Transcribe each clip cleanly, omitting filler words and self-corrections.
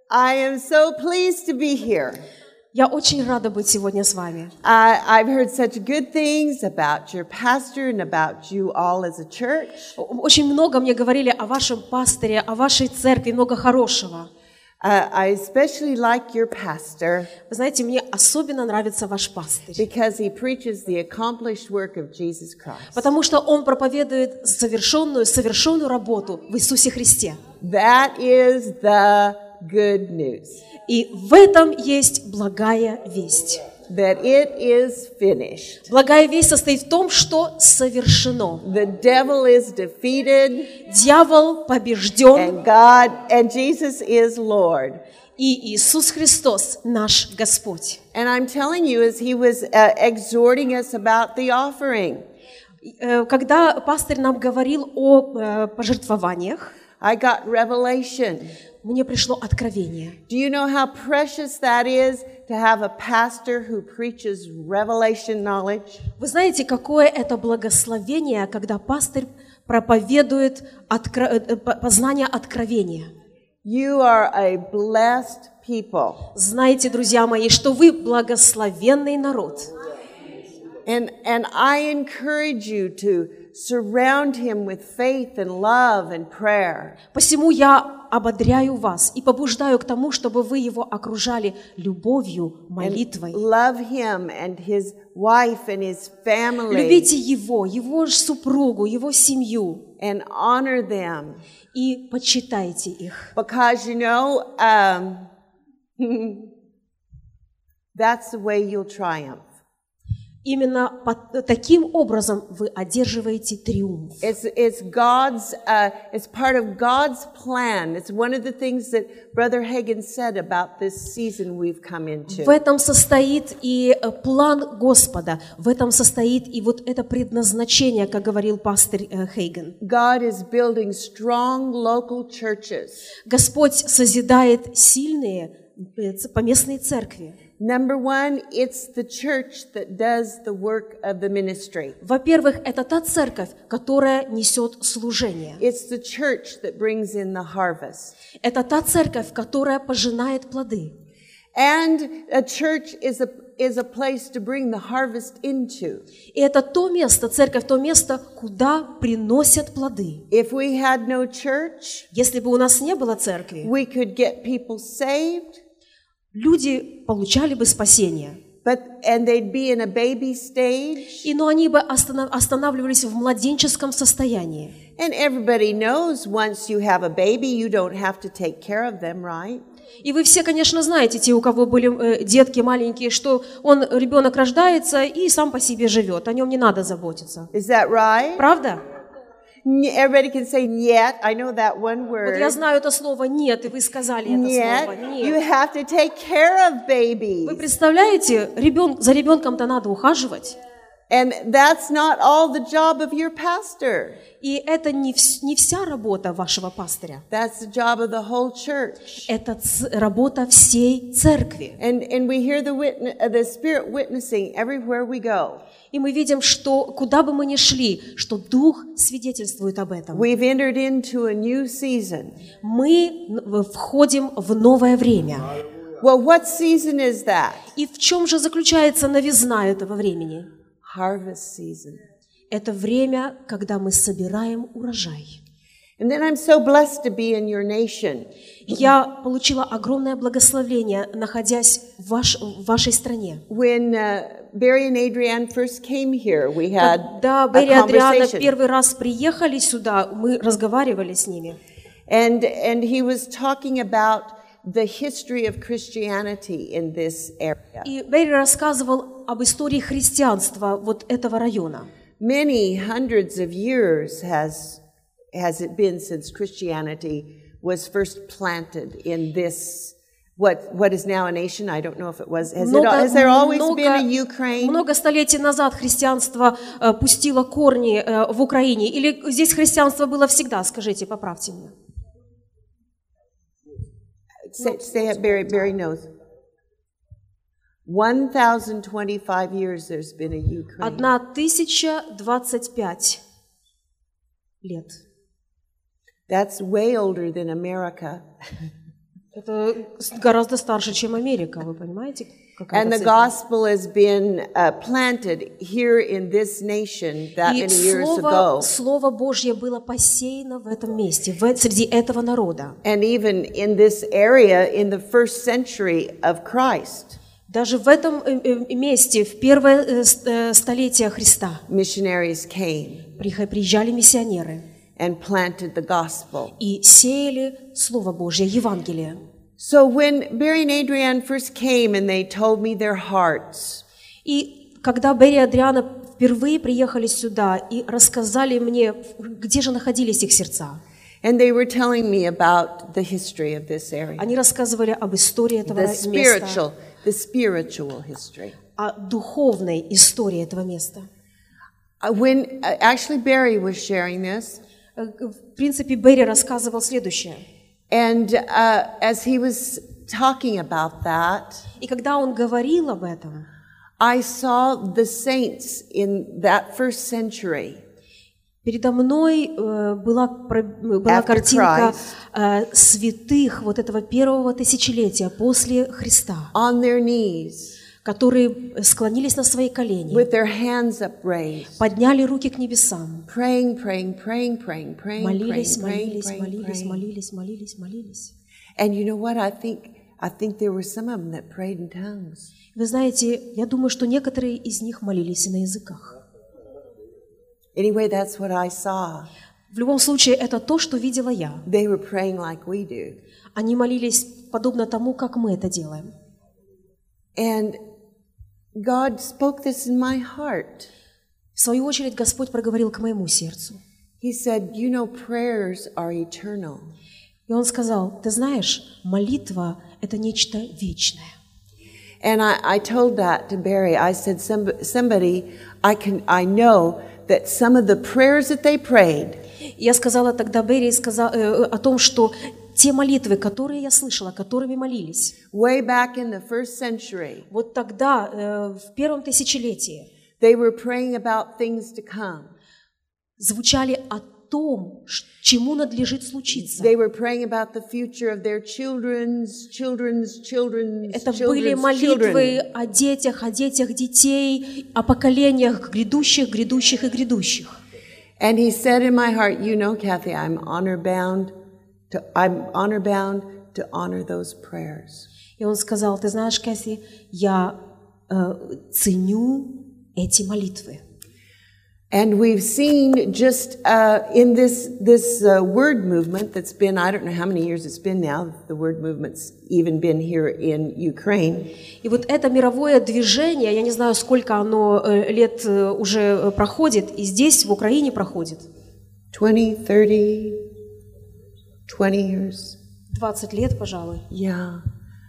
I am so pleased to be here. Я очень рада быть сегодня с вами. I've heard such good things about your pastor and about you all as a church. Очень много мне говорили о вашем пасторе, о вашей церкви, много хорошего. I especially like your pastor Вы знаете, мне особенно нравится ваш пастырь, because he preaches the accomplished work of Jesus Christ. потому что он проповедует совершенную работу в Иисусе Христе. That is the good news. И в этом есть благая весть. That it is finished. Благая весть состоит в том, что совершено. The devil is defeated. Дьявол побежден, And Jesus is Lord. и Иисус Христос наш Господь. And I'm telling you, as he was exhorting us about the offering, Когда пастырь нам говорил о пожертвованиях, I got revelation. мне пришло откровение. Do you know how precious that is to have a pastor who preaches revelation knowledge? Вы знаете, какое это благословение, когда пастырь проповедует познание откровения. You are a blessed people. Знаете, друзья мои, что вы благословенный народ. And I encourage you to surround him with faith and love and prayer. Посему я ободряю вас и побуждаю к тому, чтобы вы его окружали любовью, молитвой. Love him and his wife and his family. Любите его супругу, его семью. And honor them. И почитайте их. Because, you know, that's the way you'll triumph. Именно таким образом вы одерживаете триумф. It's part of God's plan. It's one of the things that Brother Hagin said about this season we've come into. В этом состоит и план Господа, в этом состоит и вот это предназначение, как говорил пастырь Хейген. God is building strong local churches. Господь созидает сильные поместные церкви. Number one, it's the church that does the work of the ministry. Во-первых, это та церковь, которая несет служение. It's the church that brings in the harvest. Это та церковь, которая пожинает плоды. And a church is a place to bring the harvest into. И это то место, церковь, то место, куда приносят плоды. If we had no church, если бы у нас не было церкви, we could get people saved. Люди получали бы спасение. And they'd be in a baby stage. Но они бы останавливались в младенческом состоянии. And everybody knows once you have a baby, you don't have to take care of them, right? И вы все, конечно, знаете, те, у кого были детки маленькие, что ребенок рождается и сам по себе живет, о нем не надо заботиться. Is that right? Правда? Everybody can say "нет." I know that one word. Вот я знаю это слово «нет», и вы сказали это слово «нет». You have to take care of babies. Вы представляете, за ребенком-то надо ухаживать. And that's not all the job of your pastor. И это не вся работа вашего пастыря. That's the job of the whole church. Это работа всей церкви. And we hear the Spirit witnessing everywhere we go. И мы видим, что куда бы мы ни шли, что Дух свидетельствует об этом. We've entered into a new season. Мы входим в новое время. Well, what season is that? И в чем же заключается новизна этого времени? Harvest season. Это время, когда мы собираем урожай. And then I'm so blessed to be in your nation. Я получила огромное благословение, находясь в вашей стране. When Barry and Adrienne first came here, we had Когда Берри и Адриана первый раз приехали сюда, мы разговаривали с ними. And he was talking about the history of Christianity in this area. И Берри рассказывал об истории христианства вот этого района. Many hundreds of years has it been since Christianity was first planted in this what is now a nation? I don't know if it was. Has there always been a Ukraine? Много столетий назад христианство пустило корни в Украине. Или здесь христианство было всегда? Скажите, поправьте меня. Say it, Barry knows. 1025 years there's been a Ukraine. 1025 лет. That's way older than America. Это гораздо старше, чем Америка, вы понимаете? And the gospel has been planted here in this nation that И many years ago. Слово Божье было посеяно в этом месте, среди этого народа. And even in this area in the first century of Christ. Даже в этом месте, в первое столетие Христа, missionaries came приезжали миссионеры and planted the gospel. И сеяли Слово Божье, Евангелие. So when Barry and Adrienne first came and they told me their hearts, И когда Берри и Адриана впервые приехали сюда и рассказали мне, где же находились их сердца, and they were telling me about the history of this area, они рассказывали об истории этого места, the spiritual history. О духовной истории этого места. When actually Barry was sharing this, В принципе, Берри рассказывал следующее. And as he was talking about that, И когда он говорил об этом, I saw the saints in that first century. Передо мной была картинка святых вот этого первого тысячелетия после Христа, on their knees, которые склонились на свои колени, with their hands upraised, подняли руки к небесам, praying, молились. And you know what? I think there were some of them that prayed in tongues. Вы знаете, я думаю, что некоторые из них молились и на языках. Anyway, that's what I saw. В любом случае, это то, что видела я. They were praying like we do. Они молились подобно тому, как мы это делаем. And God spoke this in my heart. В свою очередь, Господь проговорил к моему сердцу. He said, you know, prayers are eternal. И Он сказал, ты знаешь, молитва – это нечто вечное. And I told that to Barry. I said, somebody, I know that some of the prayers that they prayed. Я сказала тогда Берри о том, что те молитвы, которые я слышала, которыми молились, way back in the first century, вот тогда, в первом тысячелетии, they were praying about things to come. Звучали о том, чему надлежит случиться. They were praying about the future of their children's Это были молитвы о детях детей, о поколениях грядущих и грядущих. And he said in my heart, you know, Kathy, I'm honor bound to honor those prayers. И он сказал, ты знаешь, Кэсси, я ценю эти молитвы. And we've seen just in this word movement that's been, I don't know how many years it's been now, the word movement's even been here in Ukraine. И вот это мировое движение, я не знаю, сколько оно лет уже проходит, и здесь, в Украине, проходит. 20, 30, 20 years. 20 лет, пожалуй. Yeah.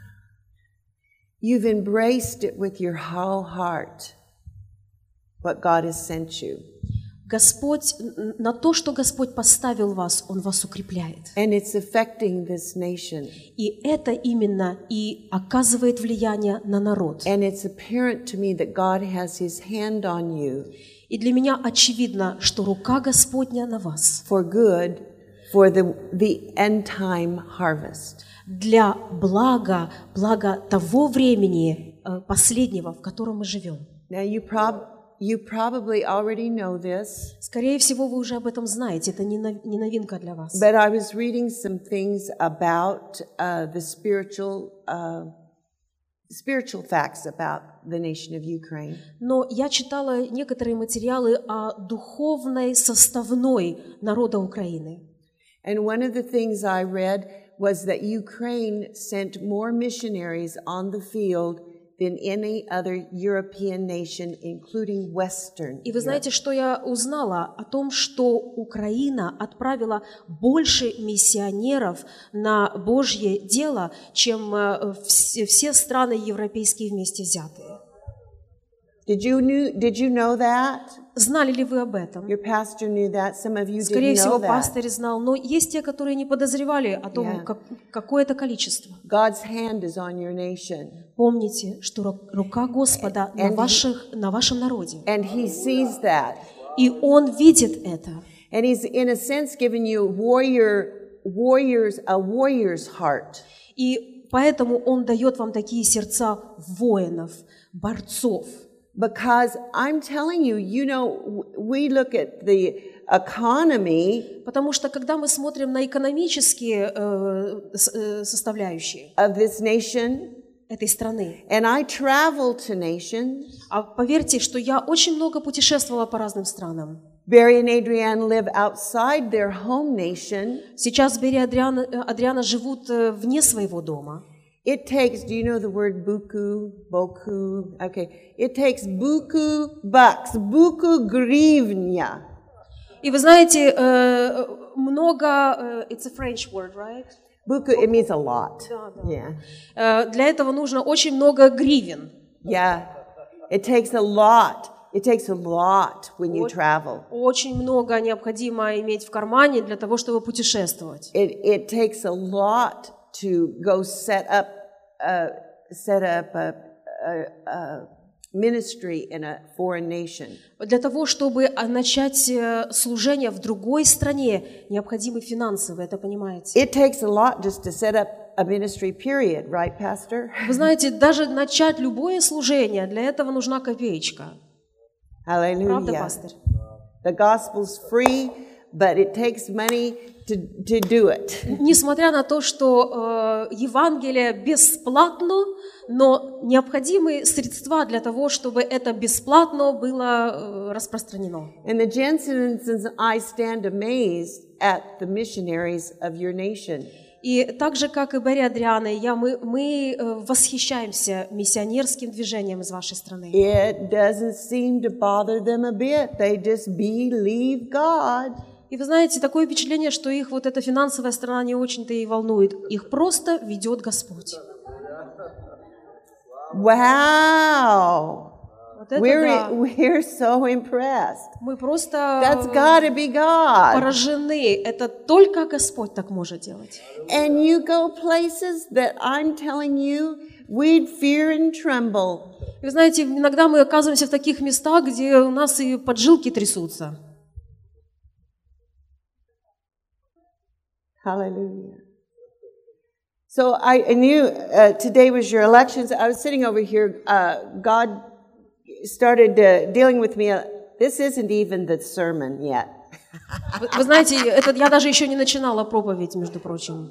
You've embraced it with your whole heart. What God has sent you. Господь, на то, что Господь поставил вас, Он вас укрепляет. And it's affecting this nation. И это именно и оказывает влияние на народ. And it's apparent to me that God has His hand on you. И для меня очевидно, что рука Господня на вас. For good, for the end time harvest. Для блага того времени последнего, в котором мы живем. Now you probably already know this. Скорее всего, вы уже об этом знаете, это не новинка для вас. But I was reading some things about the spiritual facts about the nation of Ukraine. Но я читала некоторые материалы о духовной составной народа Украины. And one of the things I read was that Ukraine sent more missionaries on the field than any other European nation, including Western. И вы знаете, что я узнала? О том, что Украина отправила больше миссионеров на Божье дело, чем все страны европейские вместе взятые. Did you know that? Знали ли вы об этом? Your pastor knew that. Some of you Скорее didn't know всего, that. пастырь знал, но есть те, которые не подозревали о том, какое это количество. God's hand is on your nation. Помните, что рука Господа на вашем народе. And He sees that. И Он видит это. And He's, in a sense, giving you a warrior's heart. И поэтому Он дает вам такие сердца воинов, борцов. Because I'm telling you, we look at the economy Потому что когда мы смотрим на экономические составляющие of this nation, этой страны, and I travel to nations. а поверьте, что я очень много путешествовала по разным странам. Barry and Adrienne live outside their home nation. Сейчас Берри и Адриана живут вне своего дома. It takes, do you know the word boku? Okay. It takes buku bucks, buku гривня. И вы знаете, много, it's a French word, right? Buku, it means a lot. Да. Yeah. Для этого нужно очень много гривен. Yeah. It takes a lot. It takes a lot when you travel. Очень много необходимо иметь в кармане для того, чтобы путешествовать. It takes a lot to go set up a ministry in a foreign nation. Для того, чтобы начать служение в другой стране, необходимы финансы, вы это понимаете? It takes a lot just to set up a ministry, period, right, Pastor? Вы знаете, даже начать любое служение, для этого нужна копеечка. Правда, Hallelujah. пастырь? The gospel's free, but it takes money to do it. Несмотря на то, что Евангелие бесплатно, но необходимы средства для того, чтобы это бесплатно было распространено. And the Jensens and I stand amazed at the missionaries of your nation. И так же, как и Берри, Адриана и я, мы восхищаемся миссионерским движением из вашей страны. It doesn't seem to bother them a bit. They just believe God. И вы знаете, такое впечатление, что их вот эта финансовая сторона не очень-то и волнует. Их просто ведет Господь. Wow. Вот это да. We're so impressed. Мы просто That's gotta be God. поражены. Это только Господь так может делать. And you go places that I'm telling you, we'd fear and tremble. И вы знаете, иногда мы оказываемся в таких местах, где у нас и поджилки трясутся. Hallelujah. So I knew today was your elections. I was sitting over here. God started dealing with me. This isn't even the sermon yet. Вы знаете, это я даже еще не начинала проповедь, между прочим.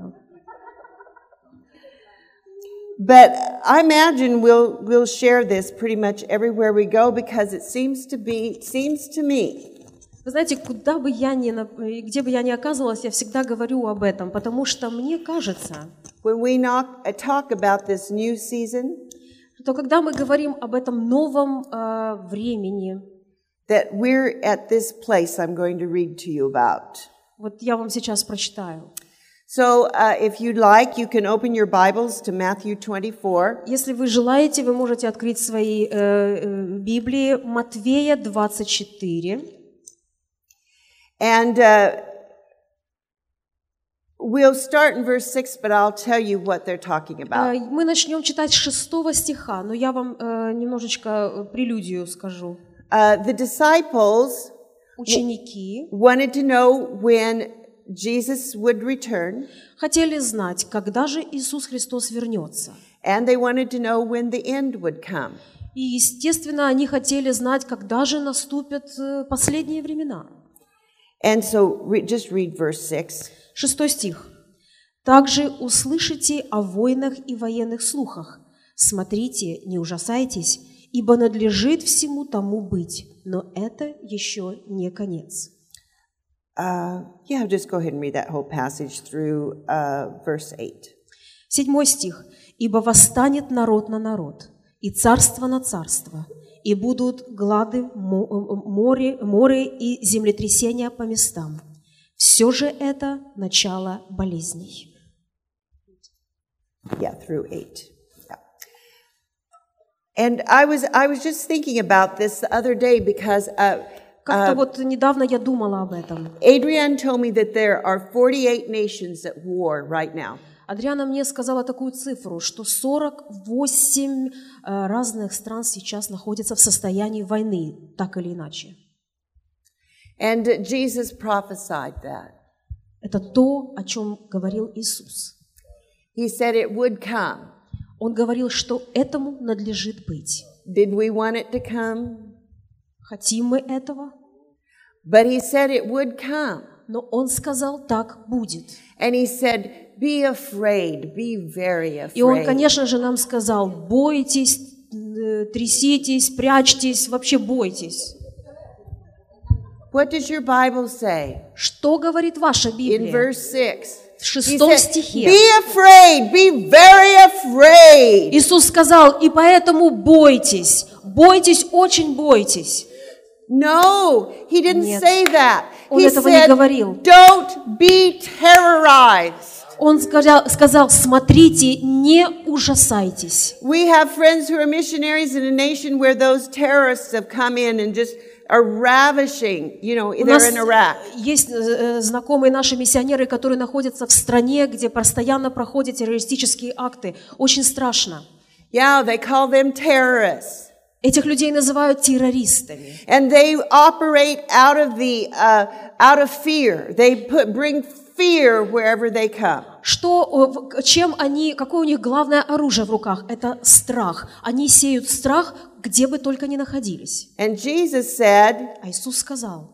But I imagine we'll share this pretty much everywhere we go because it seems to me. Вы знаете, где бы я ни оказывалась, я всегда говорю об этом, потому что мне кажется, When we talk about this new season, что когда мы говорим об этом новом времени, that we're at this place I'm going to read to you about. вот я вам сейчас прочитаю. So if you'd like, you can open your Bibles to Matthew 24. Если вы желаете, вы можете открыть свои Библии, Матвея 24. And we'll start in verse 6, but I'll tell you what they're talking about. Мы начнем читать с 6 стиха, но я вам немножечко прелюдию скажу. The disciples Ученики wanted to know when Jesus would return, хотели знать, когда же Иисус Христос вернется. and they wanted to know when the end would come. И, естественно, они хотели знать, когда же наступят последние времена. And so just read verse 6. 6 стих. «Также услышите о войнах и военных слухах. Смотрите, не ужасайтесь, ибо надлежит всему тому быть, но это еще не конец». Just go ahead and read that whole passage through verse 8. 7 стих. «Ибо восстанет народ на народ, и царство на царство, и будут глады, море и землетрясения по местам. Все же это начало болезней». Yeah, through 8. Yeah. And I was just thinking about this the other day because Как-то вот недавно я думала об этом. Adrienne told me that there are 48 nations at war right now. Адриана мне сказала такую цифру, что 48 разных стран сейчас находятся в состоянии войны, так или иначе. And Jesus prophesied that. Это то, о чем говорил Иисус. He said it would come. Он говорил, что этому надлежит быть. Did we want it to come? Хотим мы этого? But he said it would come. Но он сказал, так будет. And he said, be afraid, be very И он, afraid. конечно же, нам сказал, бойтесь, тряситесь, прячьтесь, вообще бойтесь. What does your Bible say? Что говорит ваша In Библия? verse 6. В He 6 said, стихе be afraid, be very afraid. Иисус сказал, и поэтому бойтесь, бойтесь, очень бойтесь. No, he didn't Нет. say that. Он He этого не said, говорил. don't be terrorized. Он сказал, смотрите, не ужасайтесь. We have friends who are missionaries in a nation where those terrorists have come in and just are ravishing, У they're нас in Iraq. есть знакомые наши миссионеры, которые находятся в стране, где постоянно проходят террористические акты. Очень страшно. Yeah, they call them terrorists. Этих людей называют террористами. And they operate out of fear. They bring fear wherever they come. Какое у них главное оружие в руках? Это страх. Они сеют страх, где бы только ни находились. And Jesus said, А Иисус сказал,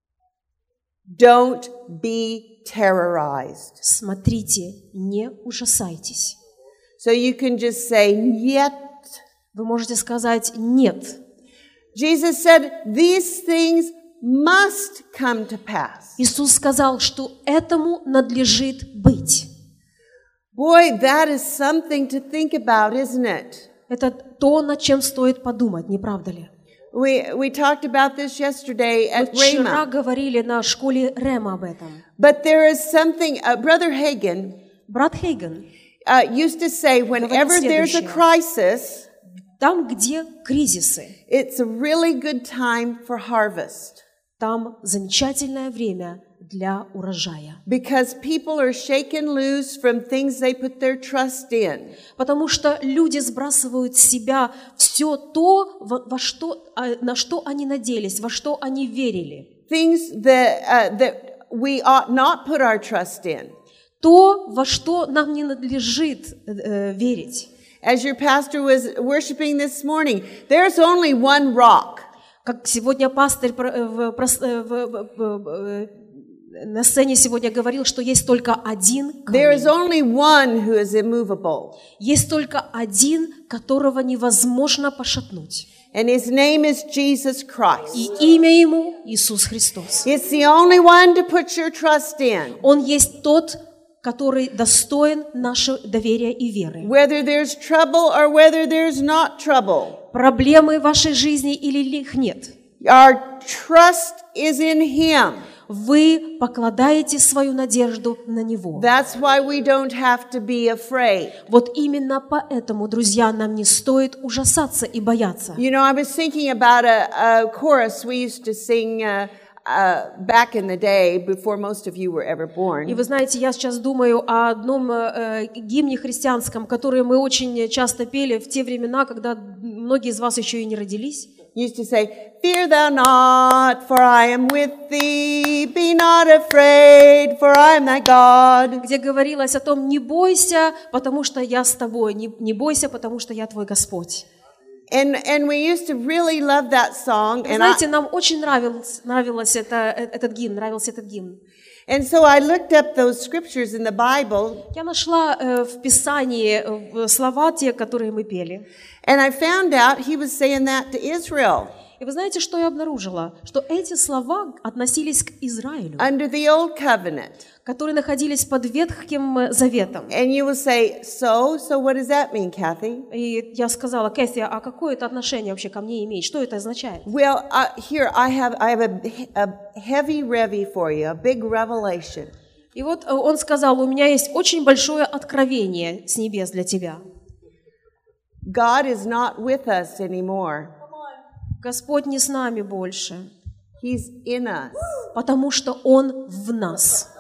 don't be terrorized. смотрите, не ужасайтесь. So you can just say, нет. Вы можете сказать «нет». Jesus said, these things must come to pass. Иисус сказал, что этому надлежит быть. Boy, that is something to think about, isn't it? Это то, над чем стоит подумать, не правда ли? We talked about this yesterday at Мы вчера Rhema. говорили на школе Рема об этом. But there is something, Brother Hagin Брат Хейген, used to say, whenever there's a следующее. crisis, там, где кризисы, it's a really good time for harvest. там замечательное время для урожая. Because people are shaken loose from things they put their trust in. Потому что люди sбрасывают с себя все то, на что они надеялись, во что они верили. Things that we ought not put our trust in. То, во что нам не надлежит верить. As your pastor was worshiping this morning, there's only one rock. Как сегодня пастырь на сцене сегодня говорил, что есть только один There is камень. only one who is immovable. Есть только один, которого невозможно пошатнуть. And his name is Jesus Christ. И имя ему Иисус Христос. It's the only one to put your trust in. Он есть тот, который достоин нашего доверия и веры. Whether there's trouble or whether there's not trouble. Проблемы в вашей жизни или их нет. Our trust is in him. Вы покладаете свою надежду на Него. That's why we don't have to be afraid. Вот именно поэтому, друзья, нам не стоит ужасаться и бояться. I was thinking about a chorus we used to sing back in the day before most of you were ever born. И вы знаете, я сейчас думаю о одном гимне христианском, который мы очень часто пели в те времена, когда многие из вас еще и не родились. Used to say, "Fear thou not, for I am with thee. Be not afraid, for I am thy God." Где говорилось о том, не бойся, потому что я с тобой, не бойся, потому что я твой Господь. And we used to really love that song. Вы знаете, нам очень нравился этот гимн. And so I looked up those scriptures in the Bible. Я нашла в Писании слова те, которые мы пели. And I found out he was saying that to Israel. И вы знаете, что я обнаружила? Что эти слова относились к Израилю, Under the old covenant. которые находились под Ветхим Заветом. And you will say, so what does that mean, Kathy? И я сказала, Кэти, а какое это отношение вообще ко мне имеет? Что это означает? Well, here I have a heavy revy for you, a big revelation. И вот он сказал, у меня есть очень большое откровение с небес для тебя. God is not with us anymore. Господь не с нами больше, He's in us. потому что Он в нас.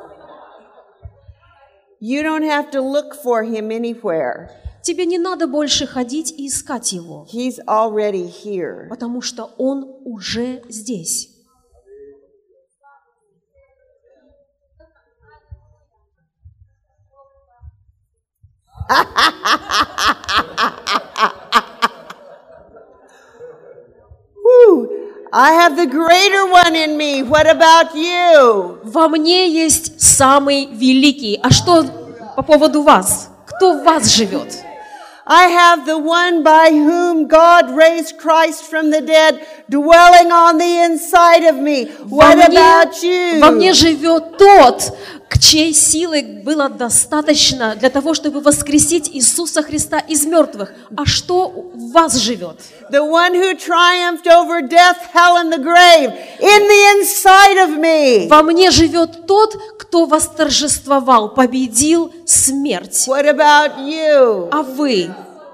You don't have to look for him anywhere. Тебе не надо больше ходить и искать Его, He's already here. потому что Он уже здесь. Whew. I have the greater one in me. What about you? Во мне есть самый великий. А что по поводу вас? Кто в вас живет? I have the one by whom God raised Christ from the dead dwelling on the inside of me. What about you? Во мне живет тот, к чьей силы было достаточно для того, чтобы воскресить Иисуса Христа из мертвых. А что в вас живет? The one who triumphed over death, hell, and the grave in the inside of me. Во мне живет тот, кто восторжествовал, победил смерть. What about you? А вы?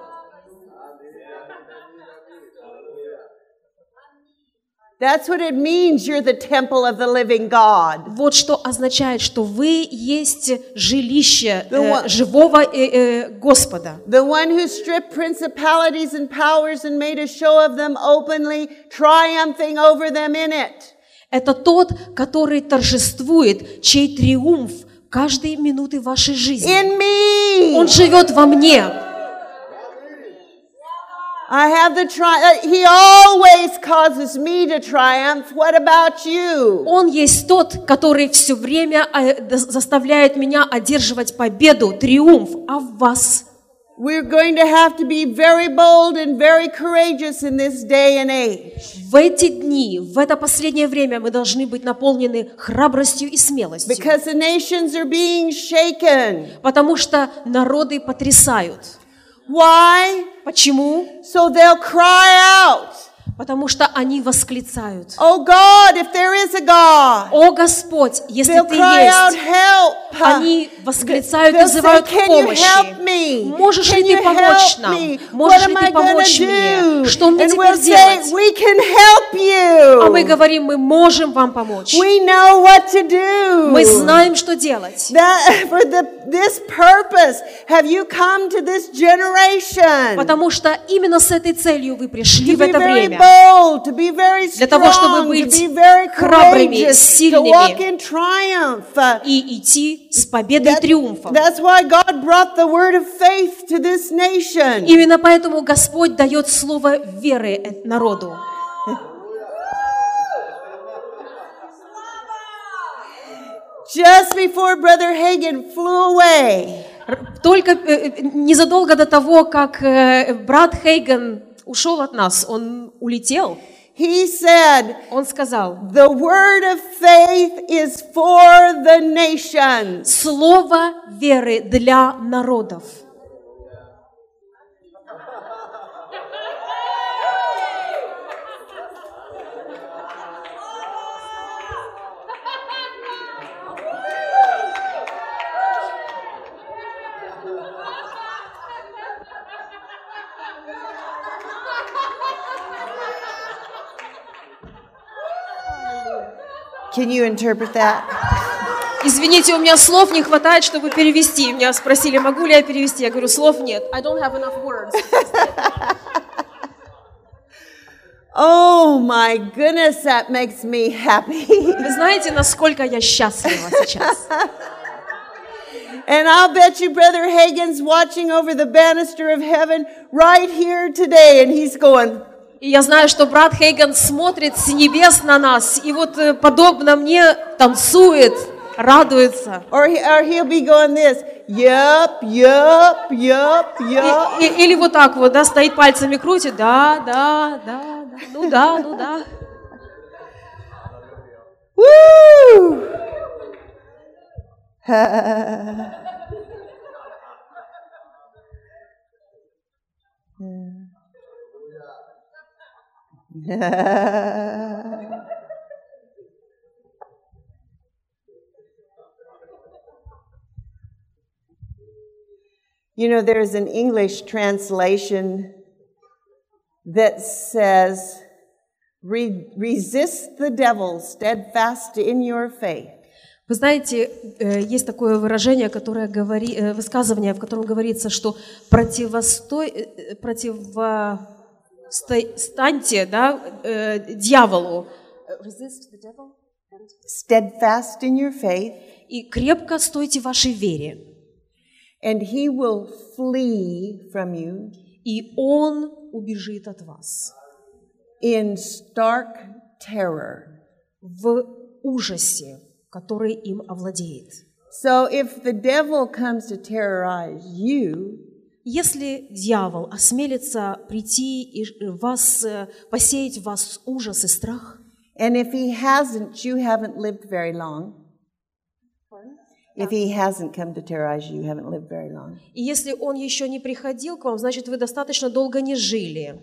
That's what it means. You're the temple of the living God. Вот что означает, что вы есть жилище живого Господа. The one who stripped principalities and powers and made a show of them openly, triumphing over them in it. Это тот, который торжествует, чей триумф каждой минуты вашей жизни. In me. Он живет во мне. I have the He always causes me to triumph. What about you? Он есть тот, который все время заставляет меня одерживать победу, триумф. А в вас? We're going to have to be very bold and very courageous in this day and age. В эти дни, в это последнее время мы должны быть наполнены храбростью и смелостью. Because the nations are being shaken. Потому что народы потрясают. Why? Почему? So they'll cry out. Потому что они восклицают. Oh God, if there is a God. О Господь, если They'll Ты cry out, есть. help. Они восклицают, They'll вызывают say, Can you help помощи. me? Можешь Can ли you ты помочь help нам? me? Можешь What ли am ты I помочь gonna мне? do? Что мне And теперь we'll say, делать? we can help you. А мы говорим, мы можем вам помочь. We know what to do. Мы знаем, что делать. For this purpose have you come to this generation. Потому что именно с этой целью вы пришли To в be это very время. bold, to be very Для того, чтобы strong, to быть be very храбрыми, courageous, to сильными. walk in triumph. И идти с победой и триумфом. That's why God brought the word of faith to this nation. Именно поэтому Господь дает слово веры народу. Just before Brother Hagin flew away, Только незадолго до того, как брат Хейган ушел от нас, он улетел, he said, он сказал, the word of faith is for the nations. слово веры для народов. Can you interpret that? Извините, у меня слов не хватает, чтобы перевести. Меня спросили, могу ли я перевести. Я говорю, слов нет. I don't have enough words. Oh my goodness, that makes me happy. Вы знаете, насколько я счастлива сейчас? And I'll bet you Brother Hagin's watching over the banister of heaven right here today, and he's going, И я знаю, что брат Хейган смотрит с небес на нас, и вот подобно мне танцует, радуется. or he'll be going this, yup, yup, yup, yup. Или вот так вот, да, стоит пальцами крутит, да, ну да. Woo! You know, there's an English translation that says, resist the devil steadfast in your faith. Вы знаете, есть такое выражение, которое высказывание, в котором говорится, что противостаньте, да, дьяволу. Resist the devil. Steadfast in your faith. И крепко стойте в вашей вере. and he will flee from you и он убежит от вас in stark terror. в ужасе, который им овладеет. So if the devil comes to terrorize you, Если дьявол осмелится прийти и посеять в вас ужас и страх, and if he hasn't, you haven't lived very long. If he hasn't come to terrorize you, you haven't lived very long. и если он еще не приходил к вам, значит, вы достаточно долго не жили.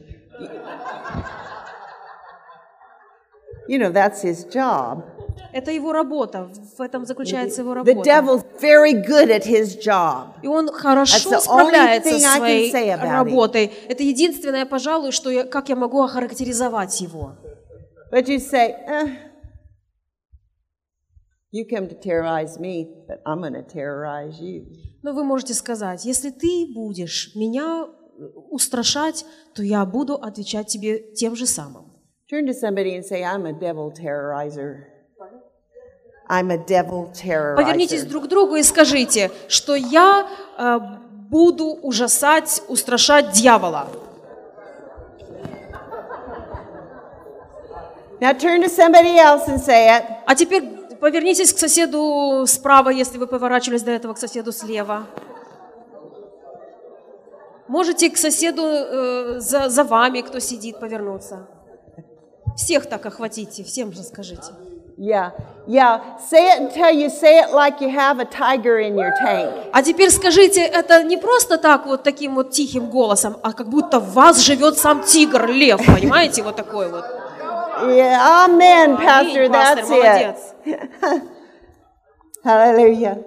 You know, that's his job. Это его работа, в этом заключается его The работа. devil's very good at his job. И он That's хорошо the only справляется thing со I can своей say about him. работой. Это единственное, пожалуй, как я могу охарактеризовать его. But you say, you come to terrorize me, but I'm going to terrorize you. Но вы можете сказать, если ты будешь меня устрашать, то я буду отвечать тебе тем же самым. Turn to somebody and say, I'm a devil terrorizer. I'm a devil Повернитесь terrorizer. друг к другу и скажите, что я буду ужасать, устрашать дьявола. Now turn to somebody else and say it. А теперь повернитесь к соседу справа, если вы поворачивались до этого, к соседу слева. Можете к соседу за вами, кто сидит, повернуться. Всех так охватите, всем же скажите. Yeah. Say it until you say it like you have a tiger in your tank. А теперь скажите это не просто так вот таким вот тихим голосом, а как будто в вас живет сам тигр, лев, понимаете, вот такой вот. Yeah, amen, Pastor, Аминь, пастор, that's молодец. it. Hallelujah.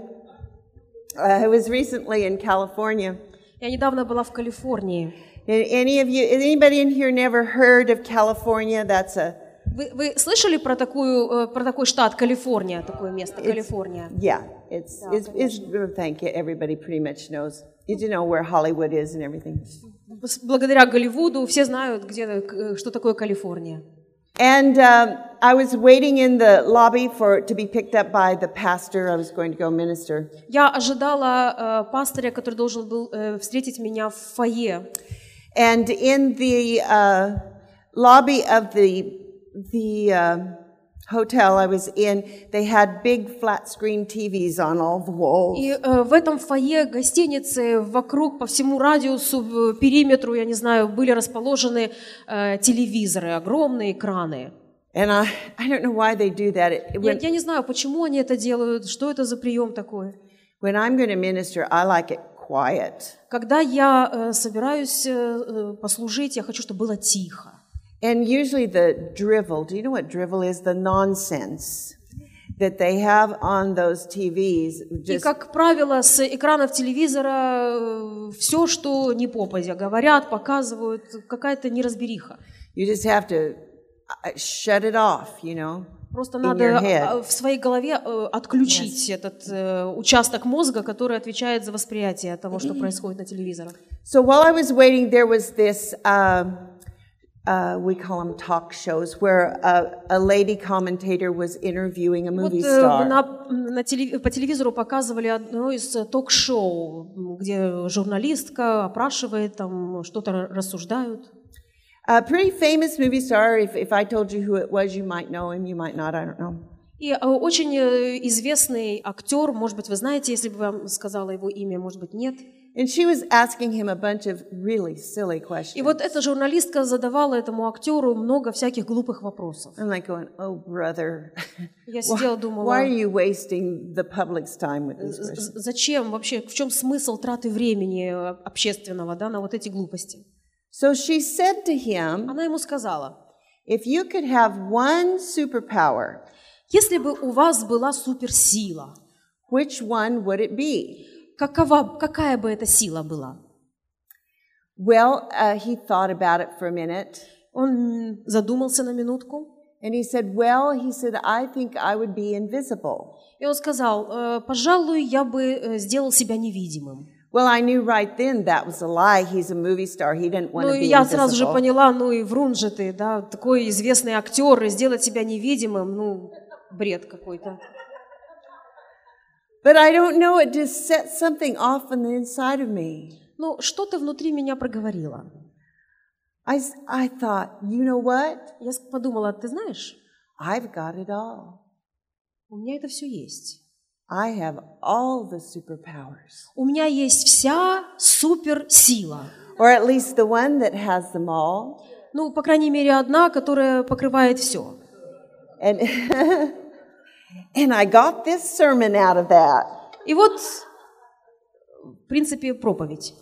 I was recently in California. Я недавно была в Калифорнии. Anybody in here never heard of California? That's a Вы слышали про такой штат Калифорния, такое место Калифорния? yeah. It's thank you. Everybody pretty much knows. Did you know where Hollywood is and everything? Благодаря Голливуду все знают, что такое Калифорния. And I was waiting in the lobby to be picked up by the pastor. I was going to go minister. Я ожидала пастыря, который должен был встретить меня в фойе. And in the lobby of the hotel I was in, they had big flat screen TVs on all the walls. И в этом фойе гостиницы вокруг по всему радиусу, периметру, я не знаю, были расположены телевизоры, огромные экраны. And I don't know why they do that. Я не знаю, почему они это делают, что это за прием такой. When I'm going to minister, I like it quiet. Когда я собираюсь послужить, я хочу, чтобы было тихо. And usually the drivel, do you know what drivel is? The nonsense that they have on those TVs. И, как правило, с экранов телевизора все, что не попадя, говорят, показывают, какая-то неразбериха. You just have to shut it off, you know. Просто in надо your head. в своей голове отключить этот участок мозга, который отвечает за восприятие того, что происходит на телевизорах. So while I was waiting, there was this, we call them talk shows, where a lady commentator was interviewing a movie star. По телевизору показывали одно из ток-шоу, где журналистка опрашивает, там что-то рассуждают. A pretty famous movie star. If I told you who it was, you might know him, you might not, I don't know. И очень известный актер, может быть, вы знаете, если бы вам сказала его имя, может быть, нет. And she was asking him a bunch of really silly questions. И вот эта журналистка задавала этому актеру много всяких глупых вопросов. I'm like going, oh, brother, Я сидела, думала, why are you wasting the public's time with these questions? зачем вообще, в чем смысл траты времени общественного, да, на вот эти глупости? So she said to him, Она ему сказала, if you could have one superpower, если бы у вас была суперсила, which one would it be? какая бы эта сила была? Well, he thought about it for a minute. Он задумался на минутку. And he said, I think I would be invisible. И он сказал, пожалуй, я бы сделал себя невидимым. Well, I knew right then that was a lie. He's a movie star. He didn't want to be я сразу же invisible. поняла, и врун же ты, да, такой известный актер, и сделать себя невидимым, бред какой-то. But I don't know, it just set something off on the inside of me. Но что-то внутри меня проговорило. I thought, you know what? Я подумала, ты знаешь, I've got it all. у меня это все есть. I have all the superpowers. У меня есть вся суперсила. Or at least the one that has them all. Ну, по крайней мере, одна, которая покрывает все. And, and I got this sermon out of that. И вот, в принципе, проповедь.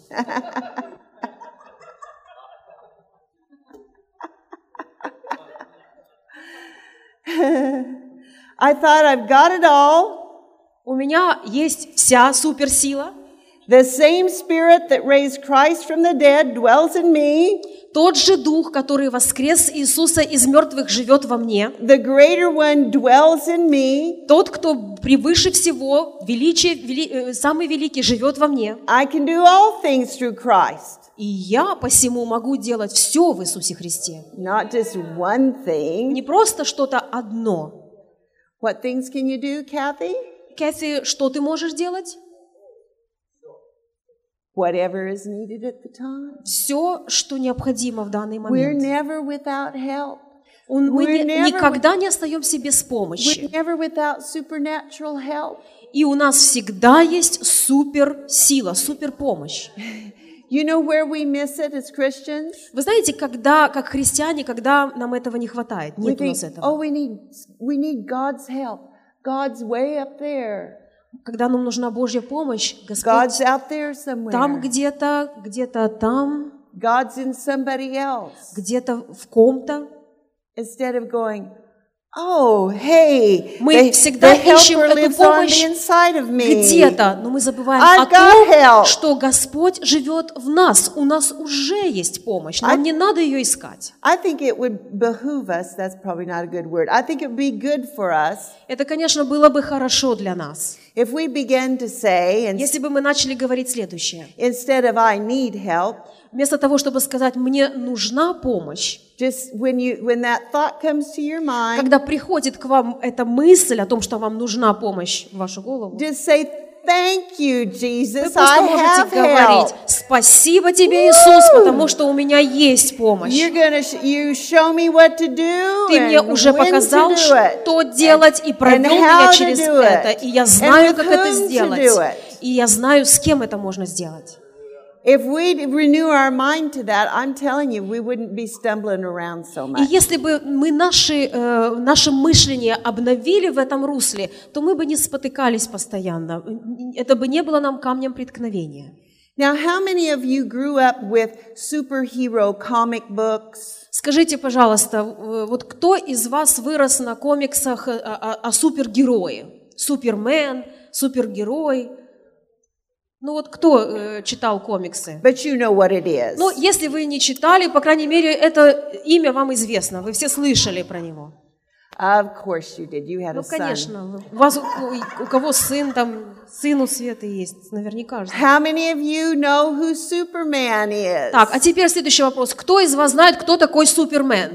I thought I've got it all. У меня есть вся суперсила. The same spirit that raised Christ from the dead dwells in me. Тот же Дух, который воскрес Иисуса из мертвых, живет во мне. The greater one dwells in me. Тот, кто превыше всего, самый великий, живет во мне. I can do all things through Christ. И я посему могу делать все в Иисусе Христе. Not just one thing. Не просто что-то одно. What things can you do, Kathy? Кэти, что ты можешь делать? Whatever is needed at the time. Все, что необходимо в данный We're момент. never without help. Мы We're never никогда не остаемся без We're помощи. never without supernatural help. И у нас всегда есть суперсила, суперпомощь. You know where we miss it as Christians? Вы знаете, когда, как христиане, когда нам этого не хватает, We нет у think, нас этого. oh, we need God's help. God's way up there. Когда нам нужна Божья помощь, God's Господь out there somewhere. там где-то там, God's in somebody else. где-то в ком-то. Instead of going, oh, hey, Мы всегда the ищем helper эту lives on помощь the inside of me. где-то, но мы забываем I've о got help. том, что Господь живет в нас. У нас уже есть помощь, нам не надо ее искать. I think it would behoove us, that's probably not a good word, I think it would be good for us Это, конечно, было бы хорошо для нас, if we began to say, and если бы мы начали говорить следующее. instead of I need help, Вместо того, чтобы сказать «мне нужна помощь», just when that thought comes to your mind, когда приходит к вам эта мысль о том, что вам нужна помощь в вашу голову, just say, thank you, вы Jesus, просто I можете have говорить help. «Спасибо тебе, Иисус, потому что у меня есть помощь». You show me what to do Ты мне and уже when показал, to do it. что делать, и провел and меня how to через do it, это. И я and знаю, with как это whom to сделать. do it. И я знаю, с кем это можно сделать. If we renew our mind to that, I'm telling you, we wouldn't be stumbling around so И much. если бы мы наше мышление обновили в этом русле, то мы бы не спотыкались постоянно. Это бы не было нам камнем преткновения. Now, how many of you grew up with superhero comic books? Скажите, пожалуйста, вот кто из вас вырос на комиксах о супергерое? Супермен, супергерой. Ну вот кто читал комиксы? But you know what it is. Ну, если вы не читали, по крайней мере, это имя вам известно. Вы все слышали про него. Of course you did. You had Ну, a son. конечно. У вас, у кого сын, там, сын у Светы есть, наверняка же. How many of you know who Superman is? Так, а теперь следующий вопрос. Кто из вас знает, кто такой Супермен?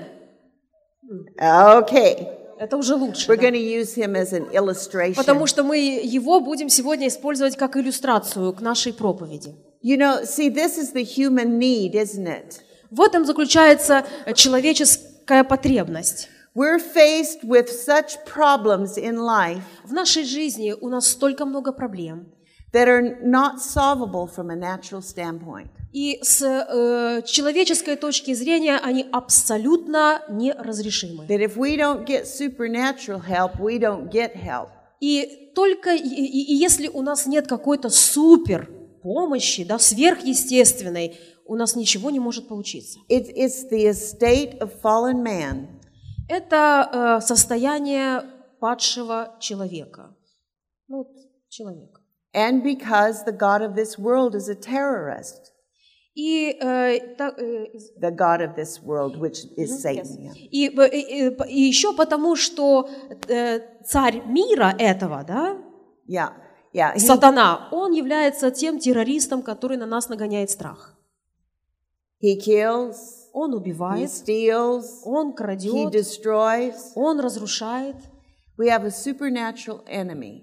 Okay. Это уже лучше. We're Да? going to use him as an illustration. Потому что мы его будем сегодня использовать как иллюстрацию к нашей проповеди. You know, see, this is the human need, isn't it? В этом заключается человеческая потребность. We're faced with such problems in life В нашей жизни у нас столько много проблем. that are not solvable from a natural standpoint. И с человеческой точки зрения они абсолютно неразрешимы. That if we don't get supernatural help, we don't get help. И только если у нас нет какой-то супер помощи, да, сверхъестественной, у нас ничего не может получиться. It's the estate of fallen man. Это состояние падшего человека. Ну, вот, человека. And because the God of this world is a terrorist. И The God of this world, which is Satan. Yeah. И еще потому, что царь мира этого, да, Yeah. сатана, он является тем террористом, который на нас нагоняет страх. He kills, Он he убивает, steals, он he крадет, destroys. он разрушает. We have a supernatural enemy.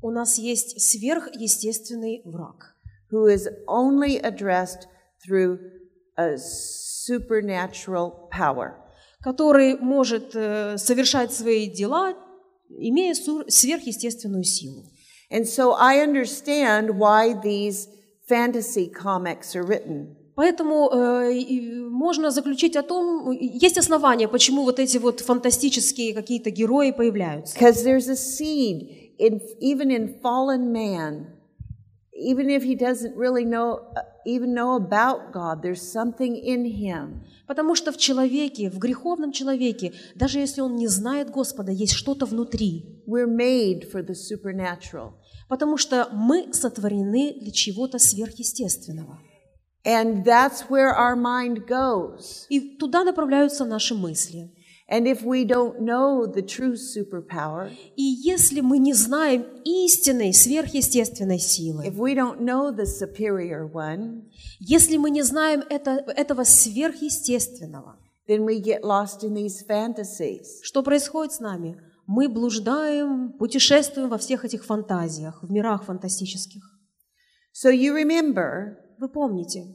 У нас есть сверхъестественный враг, who is only addressed through a supernatural power. который может совершать свои дела, имея сверхъестественную силу. And so I understand why these fantasy comics are written. Поэтому можно заключить о том, есть основания, почему вот эти вот фантастические какие-то герои появляются. Because there's a seed even in fallen man, even if he doesn't really even know about God, there's something in him. Потому что в человеке, в греховном человеке, даже если он не знает Господа, есть что-то внутри. We're made for the supernatural. Потому что мы сотворены для чего-то сверхъестественного. And that's where our mind goes. И туда направляются наши мысли. And if we don't know the true superpower, И если мы не знаем истинной сверхъестественной силы, if we don't know the superior one, если мы не знаем этого сверхъестественного, then we get lost in these fantasies. что происходит с нами? Мы блуждаем, путешествуем во всех этих фантазиях, в мирах фантастических. So you remember, Вы помните?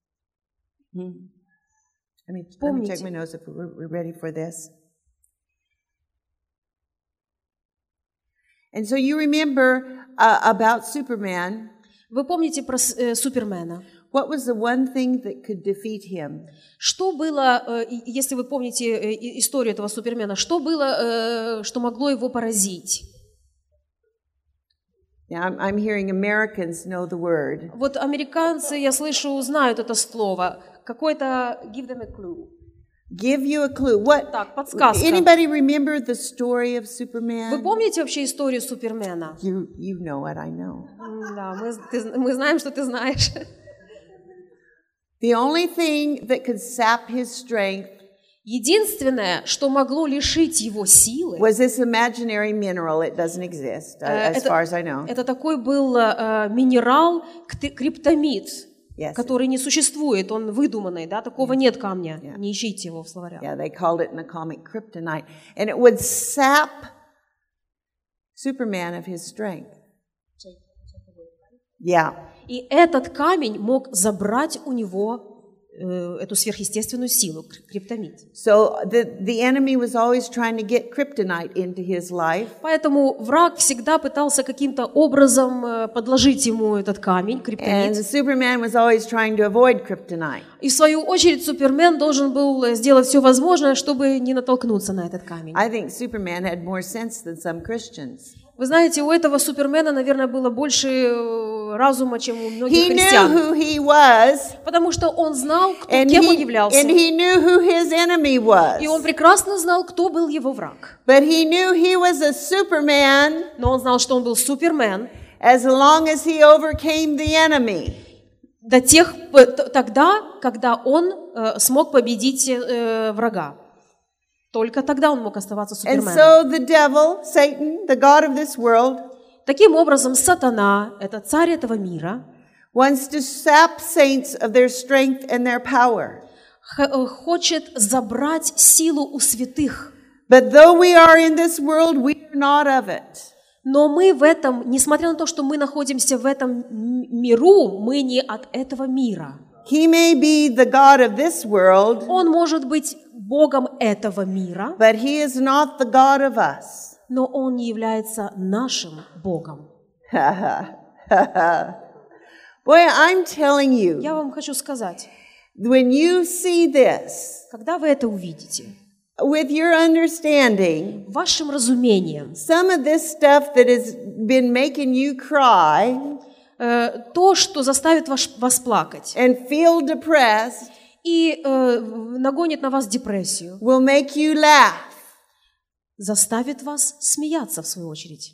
let me check my notes if we're ready for this. And so you remember about Superman. Вы помните про Супермена? What was the one thing that could defeat him? Что было, если вы помните историю этого Супермена, что было, что могло его поразить? Now, I'm hearing Americans know the word. Вот американцы, я слышу, знают это слово. Какой-то give them a clue. Give you a clue. What? Так, подсказка. Anybody remember the story of Superman? Вы помните вообще историю Супермена? You know it, I know. Да, мы знаем, что ты знаешь. The only thing that could sap his strength Единственное, что могло лишить его силы, was this imaginary mineral. It doesn't exist, as far as I know. это такой был минерал криптомит, Yes. который не существует, он выдуманный, да, такого нет камня, не ищите его в словарях. Yeah, they called it in the comic kryptonite. And it would sap Superman of his strength. Yeah. И этот камень мог забрать у него эту сверхъестественную силу, криптомит. So the enemy was always trying to get kryptonite into his life. Поэтому враг всегда пытался каким-то образом подложить ему этот камень, And криптомит. Superman was always trying to avoid kryptonite. И в свою очередь Супермен должен был сделать все возможное, чтобы не натолкнуться на этот камень. I think Superman had more sense than some Christians. Вы знаете, у этого Супермена, наверное, было больше разума, чем у многих He knew христиан. who he was, Потому что он знал, and кем он являлся. he knew who his enemy was. И он прекрасно знал, кто был его враг. But he knew he was a Superman Но он знал, что он был Супермен as long as he overcame the enemy. тогда, когда он смог победить врага. Только тогда он мог оставаться And Суперменом. so the devil, Satan, the god of this world, Таким образом, сатана, это царь этого мира, wants to sap saints of their strength and their power. хочет забрать силу у святых. But though we are in this world, we are not of it. Но мы в этом, несмотря на то, что мы находимся в этом миру, мы не от этого мира. He may be the god of this world, Он может быть Богом этого мира, but he is not the God of us. но он не является нашим Богом. Boy, I'm telling you, Я вам хочу сказать, when you see this, когда вы это увидите, with your understanding, вашим разумением, some of this stuff that has been making you cry то, что заставит вас плакать and feel depressed, и нагонит на вас депрессию, will make you laugh. заставит вас смеяться, в свою очередь.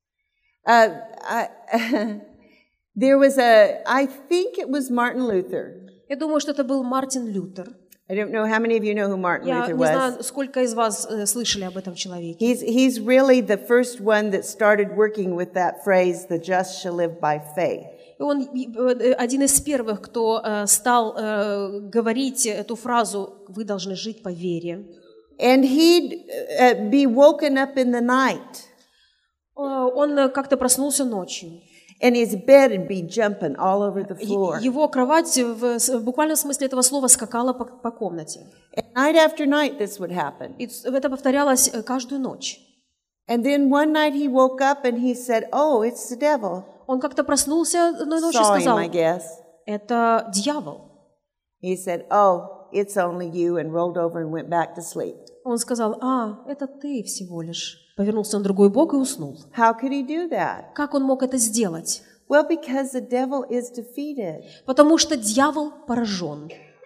There was I think it was Martin Luther. Я думаю, что это был Мартин Лютер. I don't know how many of you know who Martin Я Luther не was. знаю, сколько из вас слышали об этом человеке. He's really the first one that started working with that phrase, the just shall live by faith. И он один из первых, кто стал говорить эту фразу «Вы должны жить по вере». And he'd be woken up in the night. он как-то проснулся ночью. and his bed would be jumping all over the floor. Его кровать в буквальном смысле этого слова скакала по комнате. And night after night this would happen. И это повторялось каждую ночь. And then one night he woke up and he said, "Oh, it's the devil." Он как-то проснулся одной ночью и Saw him, сказал: I guess. это дьявол. He said, "Oh, it's only you," and rolled over and went back to sleep. Он сказал: это ты всего лишь. Повернулся на другой бок и уснул. How could he do that? Как он мог это сделать? Well, because the devil is defeated. Потому что дьявол поражен.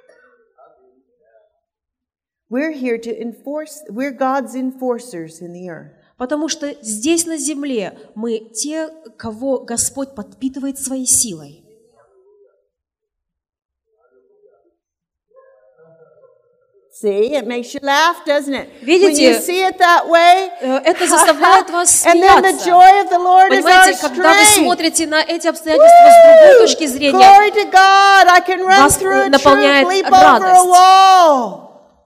We're here to enforce, we're God's enforcers in the earth. Потому что здесь на земле мы те, кого Господь подпитывает своей силой. See, it makes you laugh, doesn't it? Видите? When you see it that way, Это заставляет вас and then the смеяться. joy of the Lord is our Понимаете, когда вы strength. смотрите на эти обстоятельства с другой точки зрения, Glory to God! I can run вас through a troop, наполняет leap over a радость. wall.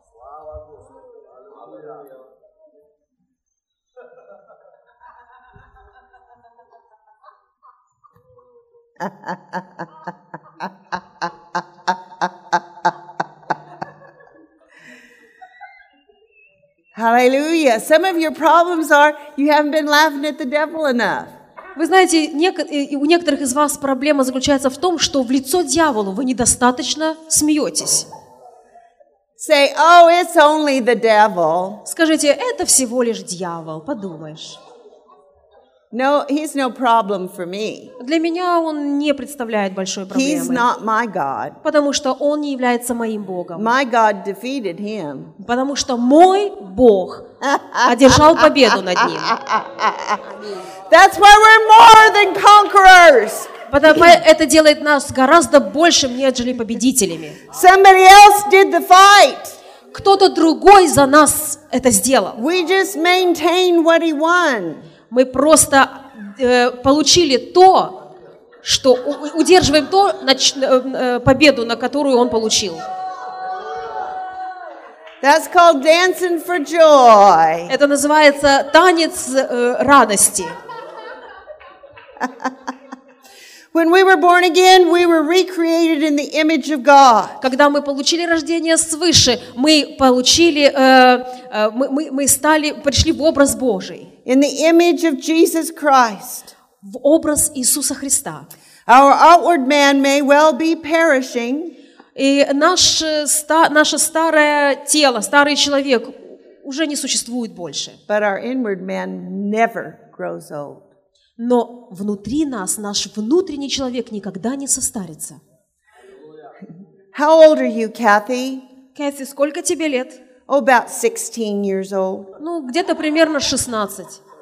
Hallelujah. Some of your problems are you haven't been laughing at the devil enough. Вы знаете, у некоторых из вас проблема заключается в том, что в лицо дьяволу вы недостаточно смеетесь. Say, "Oh, it's only the devil." Скажите, это всего лишь дьявол, подумаешь. No, he's no problem for me. Для меня он не представляет большой He's проблемы, not my God. потому что он не является моим Богом. My God defeated him. Потому что мой Бог одержал победу над ним. That's why we're more than conquerors. Потому это делает нас гораздо большим, нежели победителями. Somebody else did the fight. Кто-то другой за нас это сделал. We just maintain what he won. Мы просто получили то, что удерживаем победу, на которую он получил. That's called dancing for joy. Это называется танец радости. When we were born again, we were recreated in the image of God. Когда мы получили рождение свыше, мы пришли в образ Божий, In the image of Jesus Christ. в образ Иисуса Христа. Our outward man may well be perishing, И наше старое тело, старый человек уже не существует больше. but our inward man never grows old. Но внутри нас наш внутренний человек никогда не состарится. How old are you, Kathy? Кэти, сколько тебе лет? Oh, about 16 years old. Ну, где-то примерно 16.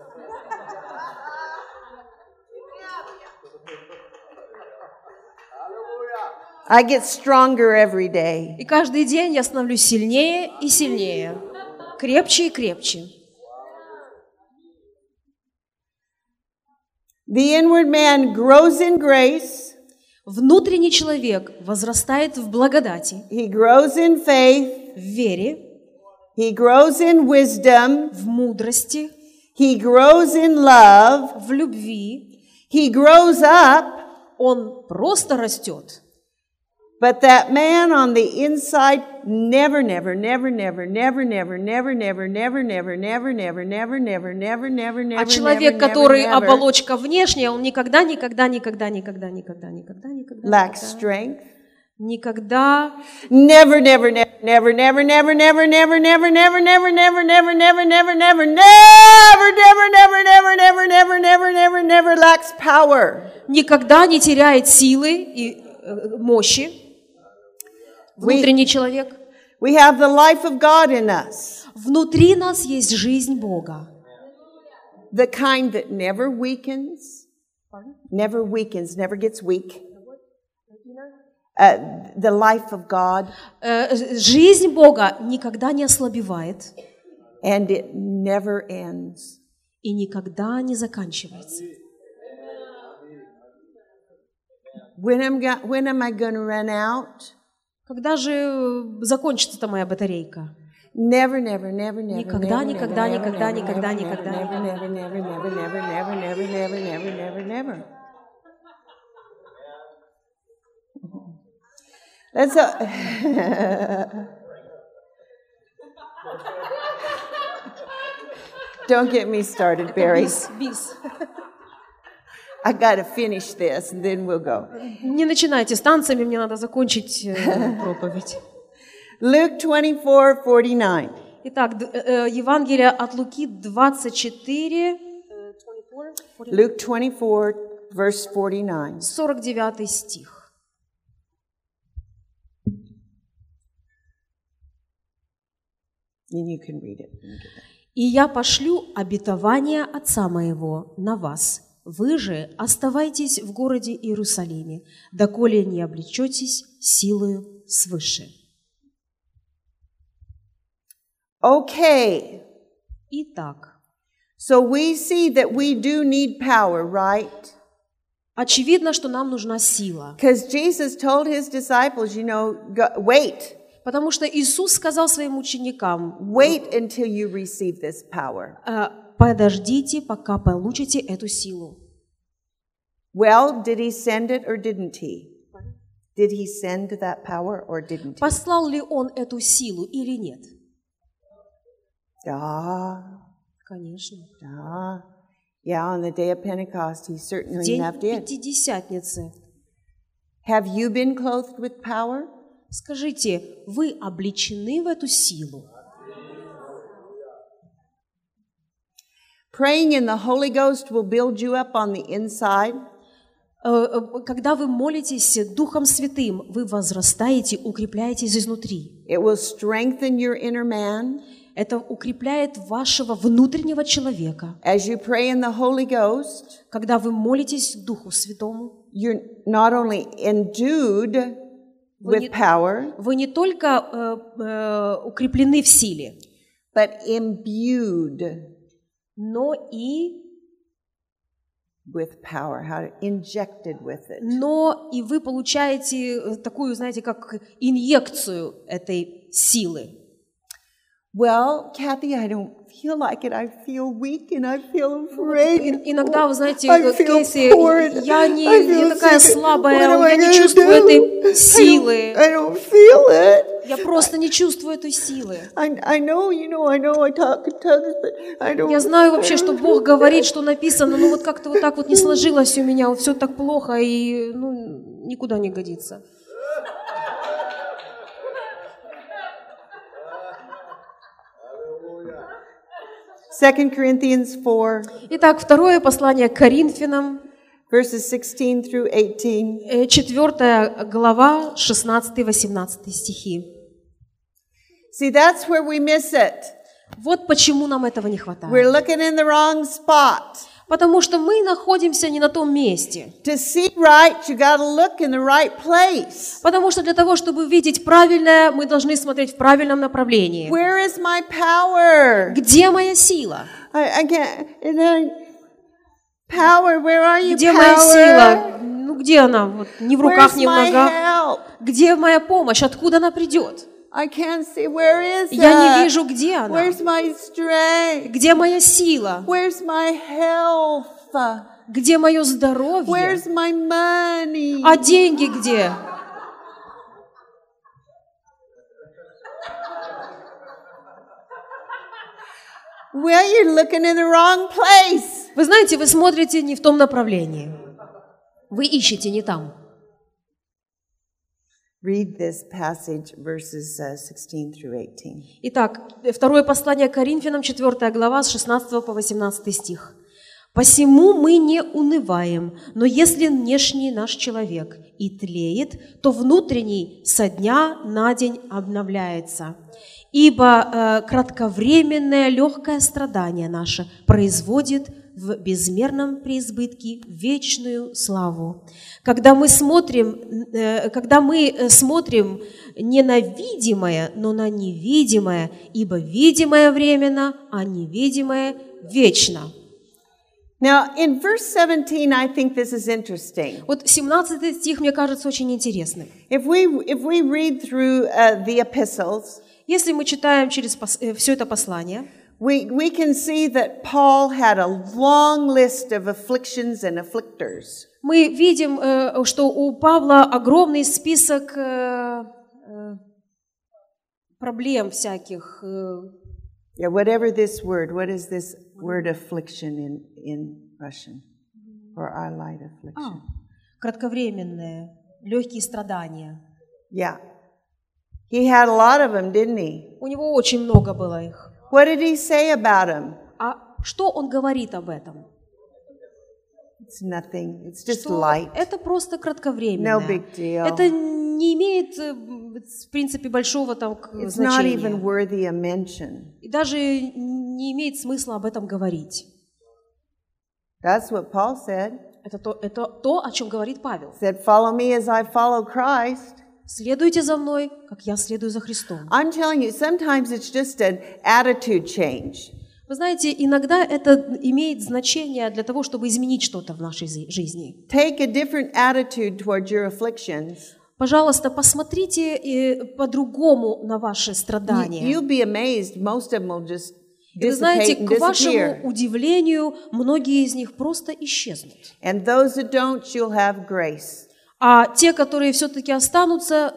I get stronger every day. И каждый день я становлюсь сильнее и сильнее, крепче и крепче. The inward man grows in grace. Внутренний человек возрастает в благодати, He grows in faith. в вере, He grows in wisdom. в мудрости, He grows in love. в любви. He grows up. Он просто растет. But that man on the inside never, never, never, never, never, never, never, never, never, never, never, never, never, never, never, never, never, А человек, который оболочка внешняя, он никогда lacks strength. никогда Never, never, never, never, never, never, never, never, never, never, never, never, never, never, never, never, never never lacks power. никогда не теряет силы и мощи. Внутренний человек. We have the life of God in us. Внутри нас есть жизнь Бога. The kind that never weakens, never gets weak. The life of God. Жизнь Бога никогда не ослабевает. And it never ends. И никогда не заканчивается. When am I going to run out? Когда же закончится-то моя батарейка? Never, never, never, never, Никогда, never, никогда, never, никогда, never, никогда, never, никогда, never, никогда. never, never, never, never, never, never, never, never, never, never. Let's. Don't get me started, Barry. Бис. I got to finish this, and then we'll go. Не начинайте с танцами, мне надо закончить проповедь. Luke 24:49. Итак, Евангелие от Луки 24, Luke 24, verse 49. 49 стих. And you can read it. «И я пошлю обетование Отца Моего на вас. Вы же оставайтесь в городе Иерусалиме, доколе не облечетесь силою свыше». Okay. Итак, So we see that we do need power, right? очевидно, что нам нужна сила. Because Jesus told his disciples, wait. Потому что Иисус сказал своим ученикам: Wait until you receive this power. подождите, пока получите эту силу. Well, did he send it or didn't he? Did he send that power or didn't he? Послал ли Он эту силу или нет? Да. Конечно. Да. Yeah, on the day of Pentecost, he certainly День did. Пятидесятницы. Have you been clothed with power? Скажите, вы облечены в эту силу? Praying in the Holy Ghost will build you up on the inside. Когда вы молитесь Духом Святым, вы возрастаете, укрепляетесь изнутри. It will strengthen your inner man. Это укрепляет вашего внутреннего человека. As you pray in the Holy Ghost, Когда вы молитесь Духу Святому, you're not only endued with power, вы не только укреплены в силе, but imbued но и with power, injected with it. вы получаете такую, знаете, как инъекцию этой силы. Well, Kathy, I don't feel like it. I feel weak and I feel afraid. Иногда, вы знаете, I feel Кейси, poor. я I такая feel sick. слабая, What am I я не gonna чувствую do? этой силы. I don't feel it. Я просто не чувствую этой силы. I know, I talk in tongues, but I don't. Я знаю вообще, что Бог говорит, что написано, но вот как-то вот так вот не сложилось у меня, все так плохо и никуда не годится. Second Corinthians 4, Итак, второе послание к Коринфянам, verses 16 through 18. 4 глава, 16-18 стихи. See, that's where we miss it. Вот почему нам этого не We're хватает. looking in the wrong spot. Потому что мы находимся не на том месте. To see right, you got to look in the right place. Потому что для того, чтобы видеть правильное, мы должны смотреть в правильном направлении. Where is my power? Где моя сила? I can't. And then, power, where are you, Где моя сила? power? Где она? Вот, ни в руках, Where's ни в my ногах. help? Где моя помощь? Откуда она придет? I can't see. Where is Я that? не вижу, где она. Where's my strength? Где моя сила? Where's my health? Где мое здоровье? Where's my money? А деньги где? Well, you're looking in the wrong place. Вы знаете, вы смотрите не в том направлении. Вы ищете не там. Read this passage, verses 16 through 18. Итак, второе послание к Коринфянам, 4 глава, с 16 по 18 стих. «Посему мы не унываем, но если внешний наш человек и тлеет, то внутренний со дня на день обновляется. Ибо кратковременное легкое страдание наше производит в безмерном преизбытке вечную славу. Когда мы смотрим не на видимое, но на невидимое, ибо видимое временно, а невидимое вечно». Now, in verse 17, I think this is interesting. Вот 17 стих, мне кажется, очень интересным. If we read through the epistles, Если мы читаем через все это послание, we can see that Paul had a long list of afflictions and afflictors. мы видим, что у Павла огромный список проблем всяких. Yeah, whatever this word, what is this word affliction in Russian? Or our light affliction? Кратковременные, легкие страдания. Yeah. He had a lot of them, didn't he? У него очень много было их. What did he say about them? А что он говорит об этом? It's nothing. It's just Что light. это просто кратковременное. No big deal. Это не имеет, в принципе, большого там It's not even значения. worthy of mention. И даже не имеет смысла об этом говорить. That's what Paul said. Это то, о чем говорит Павел. He said, "Follow me as I follow Christ." Следуйте за мной, как я следую за Христом. I'm telling you, sometimes it's just an attitude change. Вы знаете, иногда это имеет значение для того, чтобы изменить что-то в нашей жизни. Take a different attitude towards your afflictions. Пожалуйста, посмотрите по-другому на ваши страдания. You'll be amazed. Most of them will just И вы знаете, dissipate and к вашему disappear. удивлению, многие из них просто исчезнут. And those that don't, you'll have grace. А те, которые все-таки останутся,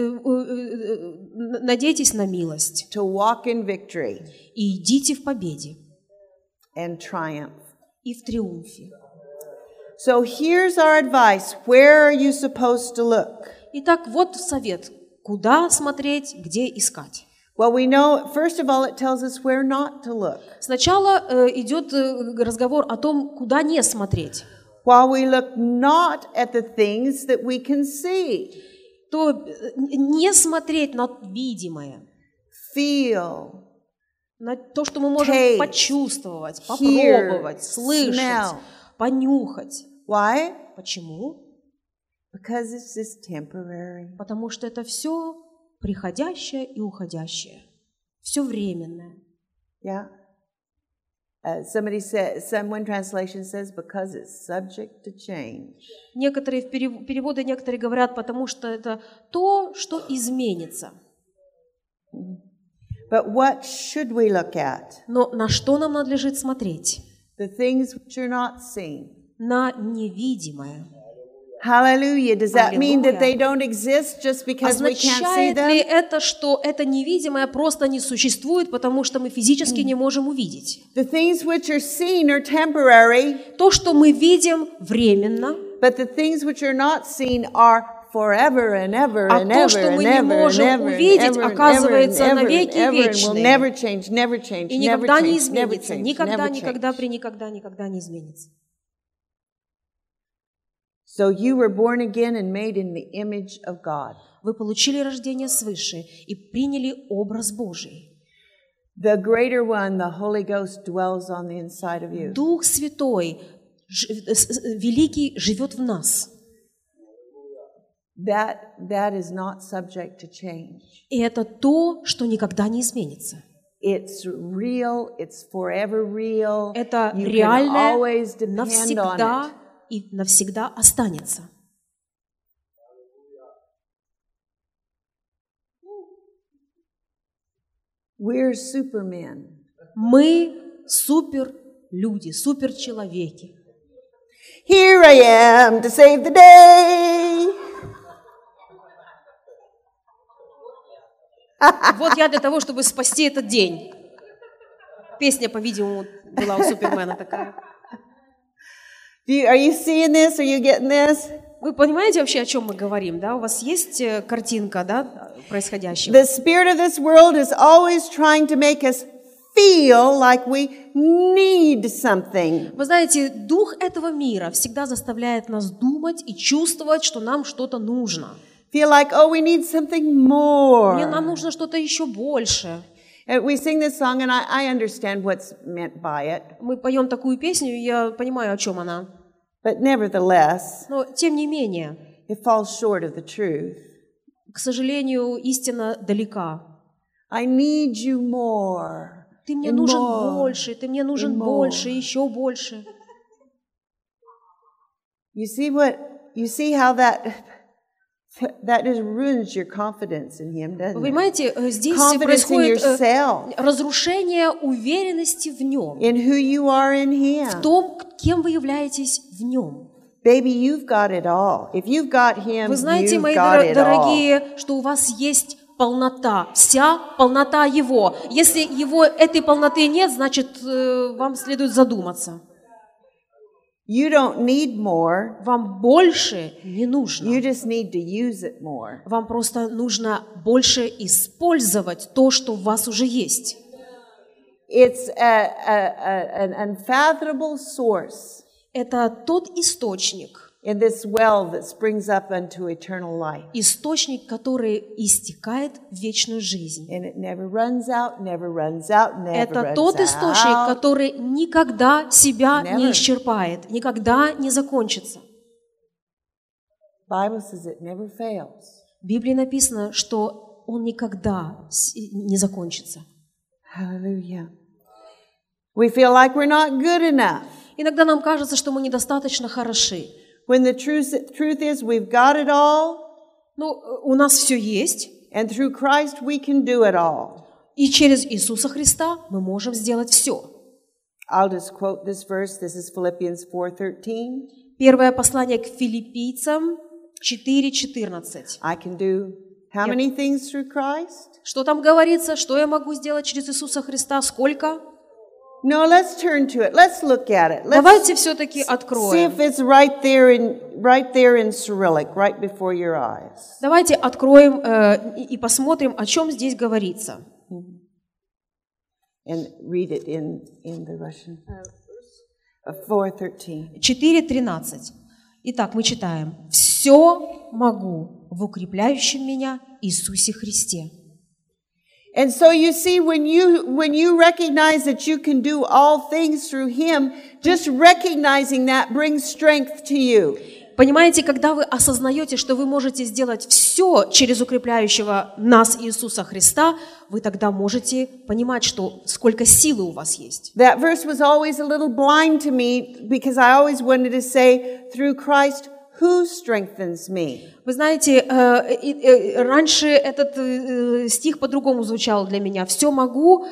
надейтесь на милость. To walk in victory И идите в победе, and triumph. и в триумфе. So here's our advice. Where are you supposed to look? Итак, вот совет. Куда смотреть, где искать? Well, we know, first of all, it tells us where not to look. Сначала идет разговор о том, куда не смотреть. While we look not at the things that we can see, То не смотреть на видимое, feel, на то, что мы можем taste, почувствовать, hear, попробовать, слышать, smell. понюхать. Why? Почему? Because it's just temporary. Потому что это все приходящее и уходящее, все временное. Yeah. One translation says, because it's subject to change. Некоторые переводы некоторые говорят, потому что это то, что изменится. But what should we look at? Но на что нам надлежит смотреть? The things which are not seen. На невидимое. Hallelujah. Does that mean that they Аллилуйя. don't exist just because we can't see Означает ли them? это, что это невидимое просто не существует, потому что мы физически не можем увидеть? The things which are seen are temporary, То, что мы видим, временно, but the things which are not seen are forever and ever а and то, ever что and мы не ever and можем ever and увидеть, ever and оказывается ever and навеки ever and will вечное. never change, never change, и never никогда не change, never изменится. change, Никогда, never никогда, change. никогда не изменится. So you were born again and made in the image of God. Вы получили рождение свыше и приняли образ Божий. The greater one, the Holy Ghost, dwells on the inside of you. Дух Святой, Великий, живет в нас. That is not subject to change. И это то, что никогда не изменится. It's real, it's forever real. Это You can реальное, always depend on навсегда it. и навсегда останется. We're supermen. Мы суперлюди, суперчеловеки. Here I am to save the day. Вот я для того, чтобы спасти этот день. Песня, по-видимому, была у Супермена такая. Are you seeing this? Are you getting this? Вы понимаете вообще, о чем мы говорим, да? У вас есть картинка, да, происходящего? The spirit of this world is always trying to make us feel like we need something. Вы знаете, дух этого мира всегда заставляет нас думать и чувствовать, что нам что-то нужно. Feel like, oh, we need something more. Нам нужно что-то еще больше. And we sing this song, and I understand what's meant by it. Мы поем такую песню, и я понимаю, о чем она. But nevertheless, Но, тем не менее, it falls short of the truth. к сожалению, истина далека. I need you more. Ты мне and нужен more, больше, ты мне нужен and more. больше, еще больше. You see how that That just ruins your confidence in Him, doesn't Вы it? понимаете, здесь Confidence in происходит yourself, разрушение уверенности в Нем, in who you are in в Him. том, кем вы являетесь в Нем. Baby, you've got it all. If you've got Him, Вы знаете, you've мои got it all. дорогие, что у вас есть полнота, вся полнота Его. Если этой полноты нет, значит, вам следует задуматься. You don't need more. Вам больше не You нужно. just need to use it more. Вам просто нужно больше использовать то, что у вас уже есть. It's an unfathomable source Это тот источник, in this well that springs up unto eternal life. источник, который истекает в вечную жизнь. And it never runs out, never runs out, never Это runs тот источник, out. который никогда себя Never. не исчерпает, никогда не закончится. Bible says it never fails. В Библии написано, что он никогда не закончится. Hallelujah. We feel like we're not good enough. Иногда нам кажется, что мы недостаточно хороши. When the truth is we've got it all, Ну, у нас все есть, and through Christ we can do it all. и через Иисуса Христа мы можем сделать все. I'll just quote this verse. This is Philippians 4:13. Первое послание к Филиппийцам 4:14. I can do how many things through Christ? Что там говорится? Что я могу сделать через Иисуса Христа? Сколько? No, let's turn to it. Let's look at it. Let's Давайте все-таки see откроем. if it's right there in Cyrillic, right before your eyes. Давайте откроем и посмотрим, о чем здесь говорится. And read it in the Russian. 4:13. 4:13. Итак, мы читаем. «Все могу в укрепляющем меня Иисусе Христе». And so you see, when you recognize that you can do all things through Him, just recognizing that brings strength to you. Понимаете, когда вы осознаете, что вы можете сделать все через укрепляющего нас Иисуса Христа, вы тогда можете понимать, что сколько силы у вас есть. That verse was always a little blind to me because I always wanted to say, through Christ, who strengthens me? Вы знаете, раньше этот стих по-другому звучал для меня. «Все могу».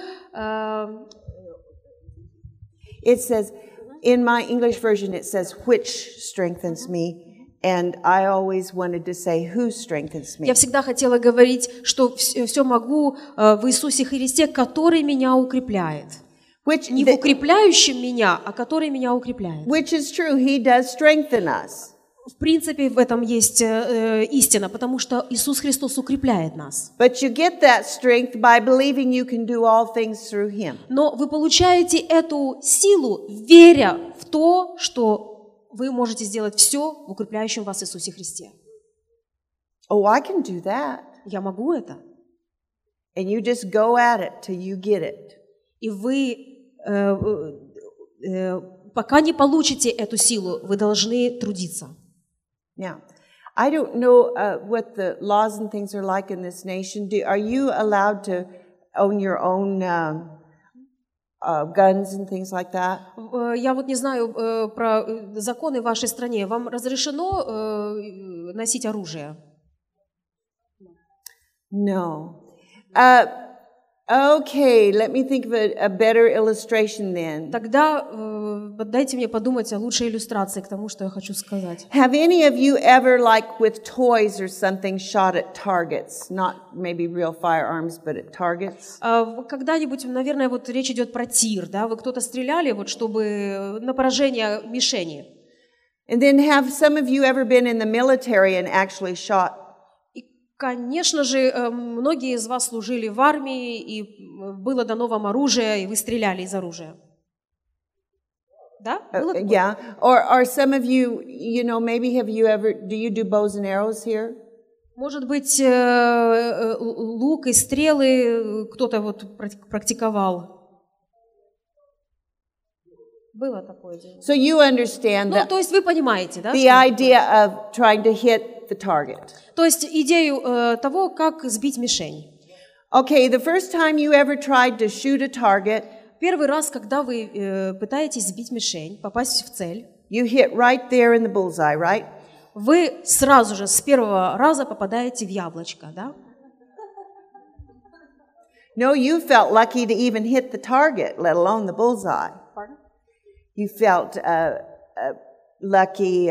It says, in my English version, it says, which strengthens me. And I always wanted to say, who strengthens me. Я всегда хотела говорить, что все могу в Иисусе Христе, который меня укрепляет. Не в укрепляющем меня, а который меня укрепляет. Which is true. He does strengthen us. В принципе, в этом есть истина, потому что Иисус Христос укрепляет нас. But you get that strength by believing you can do all things through Him. Но вы получаете эту силу, веря в то, что вы можете сделать все в укрепляющем вас Иисусе Христе. Oh, I can do that. Я могу это. And you just go at it till you get it. И вы, пока не получите эту силу, вы должны трудиться. Now, I don't know what the laws and things are like in this nation. Are you allowed to own your own guns and things like that? Я вот не знаю про законы в вашей стране. Вам разрешено носить оружие? No. Okay, let me think of a better illustration then. Тогда дайте мне подумать о лучшей иллюстрации к тому, что я хочу сказать. Have any of you ever, like with toys or something, shot at targets? Not maybe real firearms, but at targets? Когда-нибудь, наверное, вот речь идет про тир, да? Вы кто-то стреляли, вот, чтобы на поражение мишени. And then have some of you ever been in the military and actually shot? Конечно же, многие из вас служили в армии, и было дано вам оружие, и вы стреляли из оружия. Да? Было такое? Yeah. Or some of you, you know, maybe have you ever, do you do bows and arrows here? Может быть, лук и стрелы кто-то вот практиковал. Было такое дело. So you understand Ну, то есть вы понимаете, да? the idea of trying to hit the target. То есть идею того, как сбить мишень. Okay, the first time you ever tried to shoot a target, Первый раз, когда вы пытаетесь сбить мишень, попасть в цель, you hit right there in the bullseye, right? вы сразу же с первого раза попадаете в яблочко, да? No, you felt lucky to even hit the target, let alone the bullseye. Pardon? You felt lucky,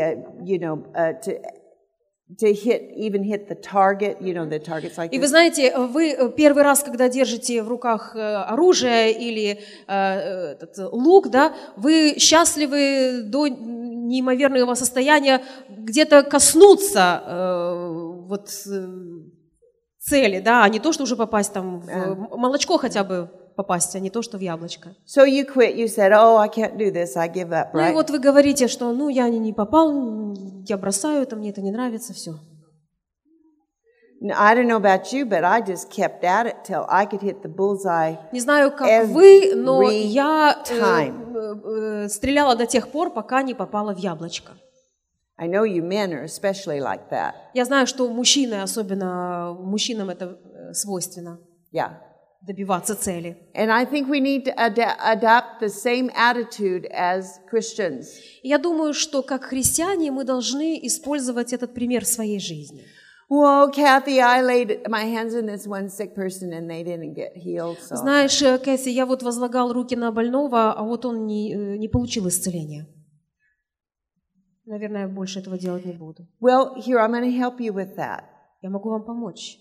to hit the target. You know, the target's like И вы this. знаете, вы первый раз, когда держите в руках оружие или этот лук, да, вы счастливы до неимоверного состояния где-то коснуться цели, да, а не то, что уже попасть там в молочко хотя бы попасть, а не то, что в яблочко. So you quit. You said, "Oh, I can't do this. I give up." Ну и Right? вот вы говорите, что ну я не попал, я бросаю это, мне это не нравится, все. Now, I don't know about you, but I just kept at it till I could hit the bullseye. Не знаю, как вы, но Every я time. стреляла до тех пор, пока не попала в яблочко. I know you men are especially like that. Я знаю, что мужчины, особенно мужчинам это свойственно, Yeah. добиваться цели. And I think we need to adapt the same attitude as Christians. Я думаю, что как христиане мы должны использовать этот пример в своей жизни. Well, Kathy, I laid my hands on this one sick person and they didn't get healed. So. Знаешь, Кэсси, я вот возлагал руки на больного, а вот он не получил исцеления. Наверное, я больше этого делать не буду. Well, here, I'm going to help you with that. Я могу вам помочь.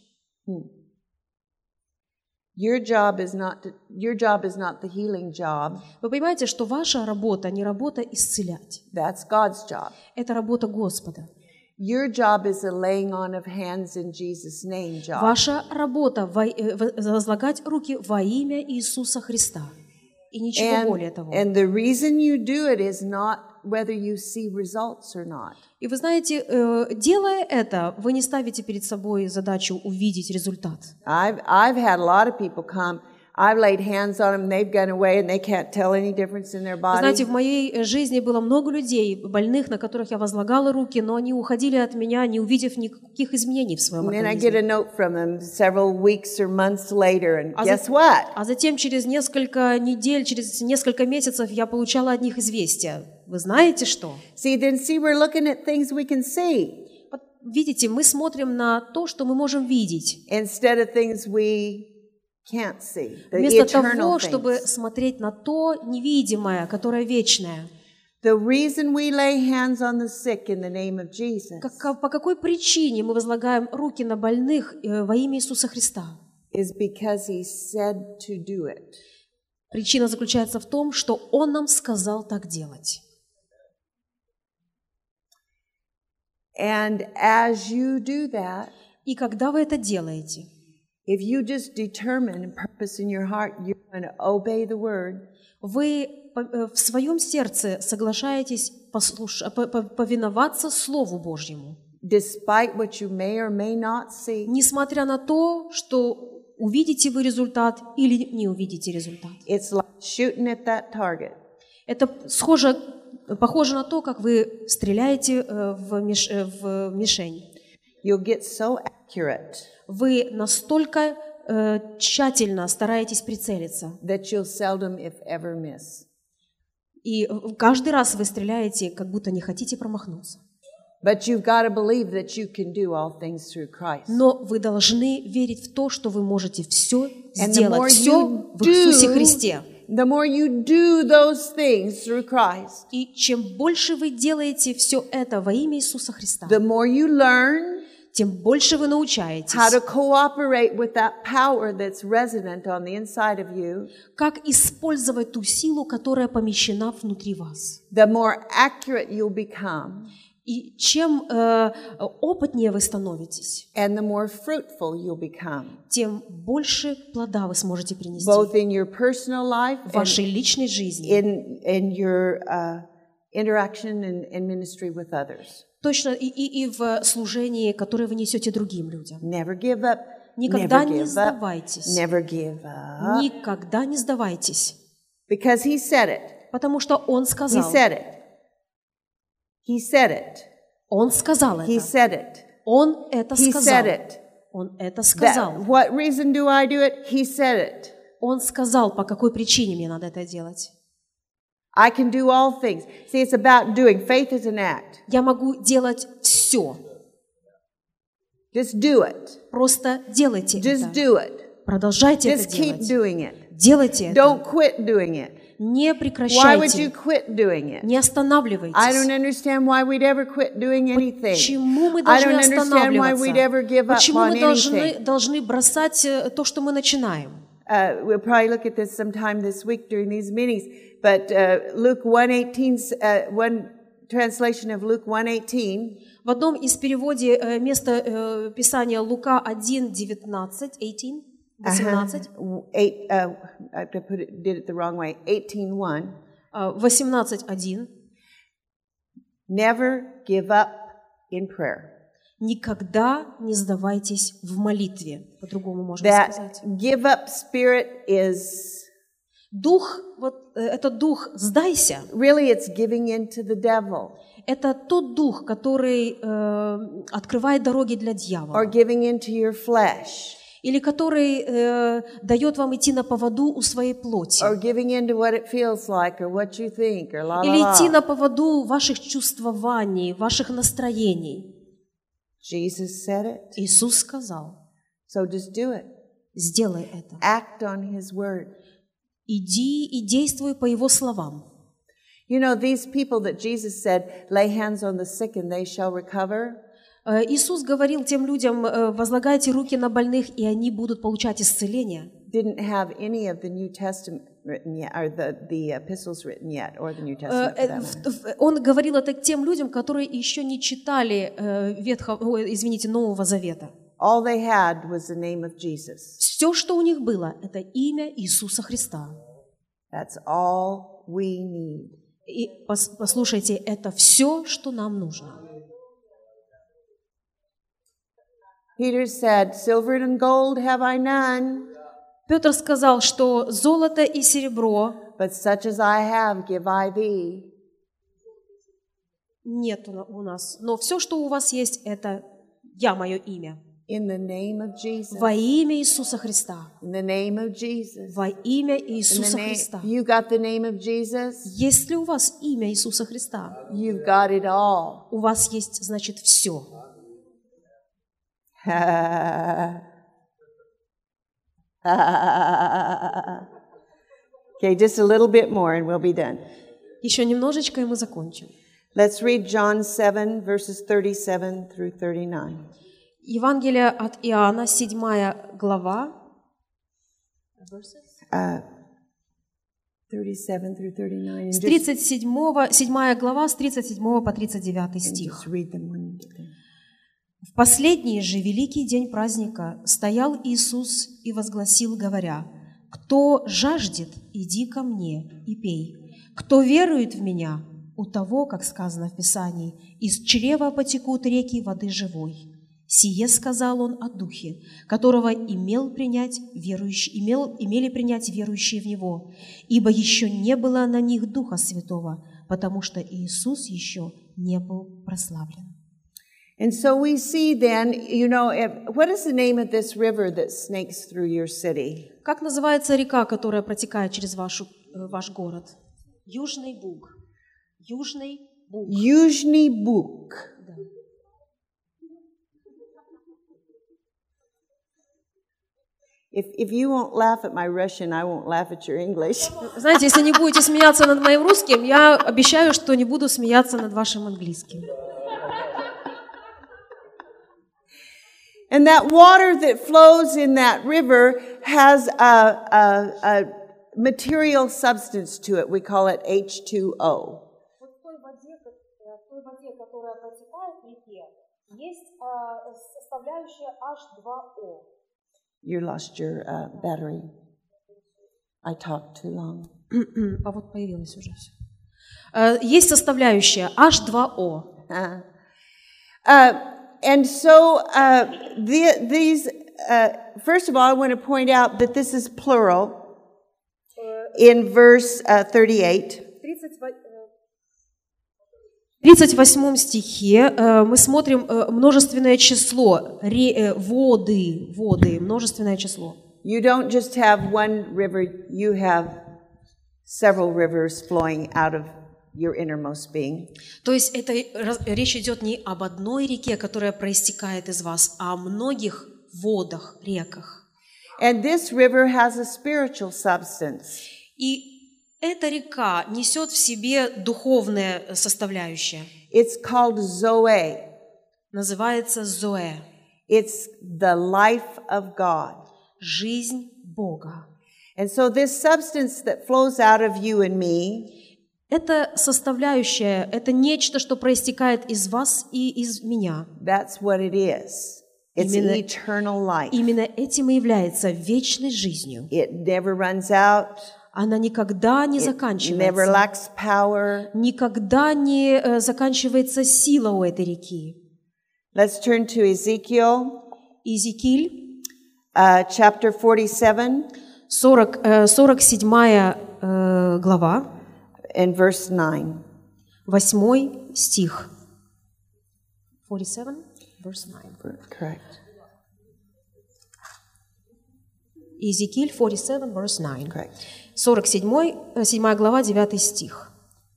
Your job is not the healing job. Вы понимаете, что ваша работа не работа исцелять. That's God's job. Это работа Господа. Your job is a laying on of hands in Jesus' name job. Ваша работа возлагать руки во имя Иисуса Христа. И ничего более того. And the reason you do it is not whether you see results or not. И вы знаете, делая это, вы не ставите перед собой задачу увидеть результат. I've had a lot of people come. I've laid hands on them, they've gone away, and they can't tell any difference in their Вы body. знаете, в моей жизни было много людей, больных, на которых я возлагала руки, но они уходили от меня, не увидев никаких изменений в своем And then I get a организме. note from them several weeks or months later, and guess what? А затем через несколько недель, через несколько месяцев я получала от них известия. Вы знаете что? See, we're looking at things we can see Вот видите, мы смотрим на то, что мы можем видеть, instead of things we can't see, the вместо eternal того, чтобы things. смотреть на то невидимое, которое вечное. The reason we lay hands on the sick in the name of Jesus По какой причине мы возлагаем руки на больных во имя Иисуса Христа? is because He said to do it. Причина заключается в том, что Он нам сказал так делать. And as you do that, И когда вы это делаете, if you just determine and purpose in your heart, you're going to obey the word, вы в своем сердце соглашаетесь повиноваться Слову Божьему, despite what you may or may not see. несмотря на то, что увидите вы результат или не увидите результат. It's like shooting at that target. Это похоже на то, как вы стреляете в мишень. You'll get so accurate Вы настолько тщательно стараетесь прицелиться, that you'll seldom, if ever, miss. и каждый раз вы стреляете, как будто не хотите промахнуться. But you've got to believe that you can do all things through Christ. Но вы должны верить в то, что вы можете все And the more сделать, все you в Иисусе do, Христе. the more you do those things through Christ, И чем больше вы делаете все это во имя Иисуса Христа, the more you learn тем больше вы научаетесь, how to cooperate with that power that's resident on the inside of you, как использовать ту силу, которая помещена внутри вас. the more accurate you'll become, И чем опытнее вы становитесь, and the more fruitful you'll become, тем больше плода вы сможете принести both in your personal life в and вашей личной жизни, in your interaction and ministry with others. точно и в служении, которое вы несете другим людям. Never give up. Никогда Never не give up. сдавайтесь. Never give up. Никогда не сдавайтесь, Because He said it. потому что Он He сказал. said it. He said it. Он сказал He это. said it. Он это He сказал. said it. Он это сказал. What reason do I do it? He said it. Он сказал, по какой причине мне надо это делать. I can do all things. See, it's about doing. Faith is an act. Я могу делать все все. Just do it. Просто делайте Just это. do it. Продолжайте Just это keep делать. doing it. Делайте это. Don't quit doing it. Не Why would you прекращайте. quit doing it? Не I don't останавливайтесь. understand why we'd ever quit doing anything. Почему мы I должны don't understand why we'd ever останавливаться? give up Почему on мы anything. должны бросать то, что мы начинаем? We'll probably look at this sometime this week during these meetings. But Luke 1:18, one translation of Luke 1:18. В одном из переводе место Писания Лука 1:19, 18, I did it the wrong way. 18:1. 18:1. Never give up in prayer. Никогда не сдавайтесь в молитве. По-другому можно сказать. That give up spirit is Дух, вот этот дух «сдайся», really it's giving in to the devil это тот дух, который открывает дороги для or дьявола, giving into your flesh или который дает вам идти на поводу у своей плоти, or giving into what it feels like or what you think or la la или идти la. на поводу ваших чувствований, ваших настроений. Jesus said it. Иисус сказал, So just do it. сделай это. Act on His word. Иди и действуй по Его словам. You know, these people that Jesus said, lay hands on the sick and they shall recover. Иисус говорил тем людям, возлагайте руки на больных, и они будут получать исцеление. Didn't have any of the New Testament written yet, or the epistles written yet, or the New Testament for that matter. Он говорил это к тем людям, которые еще не читали Нового Завета. All they had was the name of Jesus. Все, что у них было, это имя Иисуса Христа. That's all we need. И послушайте, это все, что нам нужно. Peter said, silver and gold have I none, Петр сказал, что золото и серебро but such as I have give I thee. нет у нас, но все, что у вас есть, это я, мое имя. In the name of Jesus. Во имя Иисуса Христа. In the name of Jesus. Во имя In the Иисуса name, Христа. you got the name of Jesus, Есть ли у вас имя Иисуса Христа? you've got it all. У вас есть, значит, все. Okay, just a little bit more and we'll be done. Еще немножечко, и мы закончим. Let's read John 7, verses 37 through 39. Евангелие от Иоанна, 7 глава. 37 through 39. С And just, 7 глава, с 37 по 39 and стих. just read them when you get there. В последний же великий день праздника стоял Иисус и возгласил, говоря: «Кто жаждет, иди ко мне и пей. Кто верует в Меня, у того, как сказано в Писании, из чрева потекут реки воды живой». Сие сказал Он о Духе, которого имели принять верующие в Него, ибо еще не было на них Духа Святого, потому что Иисус еще не был прославлен. And so we see then, you know, what is the name of this river that snakes through your city? Как называется река, которая протекает через ваш город? Южный Буг. Южный Буг. Южный Буг. Да. If you won't laugh at my Russian, I won't laugh at your English. Знаете, если не будете смеяться над моим русским, я обещаю, что не буду смеяться над вашим английским. And that water that flows in that river has a material substance to it. We call it H2O. Вот в той воде, которая протекает в реке, есть составляющая H2O. You lost your battery. I talked too long. А вот появилось уже все. Есть составляющая H2O. And so these, first of all, I want to point out that this is plural in verse 38. В 38 стихе мы смотрим множественное число, воды, множественное число. You don't just have one river, you have several rivers flowing out of your innermost being. То есть речь идет не об одной реке, которая проистекает из вас, а о многих водах, реках. And this river has a spiritual substance. И эта река несет в себе духовное составляющее. It's called Zoe. Называется Зоэ. It's the life of God. Жизнь Бога. And so this substance that flows out of you and me, Это составляющее, это нечто, что проистекает из вас и из меня. that's what it is. It's eternal life. Именно этим и является вечной жизнью. It never runs out. Она никогда не Never заканчивается. lacks power. Никогда не заканчивается сила у этой реки. Let's turn to Ezekiel, Иезекииль, chapter 47 47 глава, and verse 9. 8 стих. 47, verse 9. Correct. Иезекииль 47, verse 9. Correct. 7 глава, 9 стих.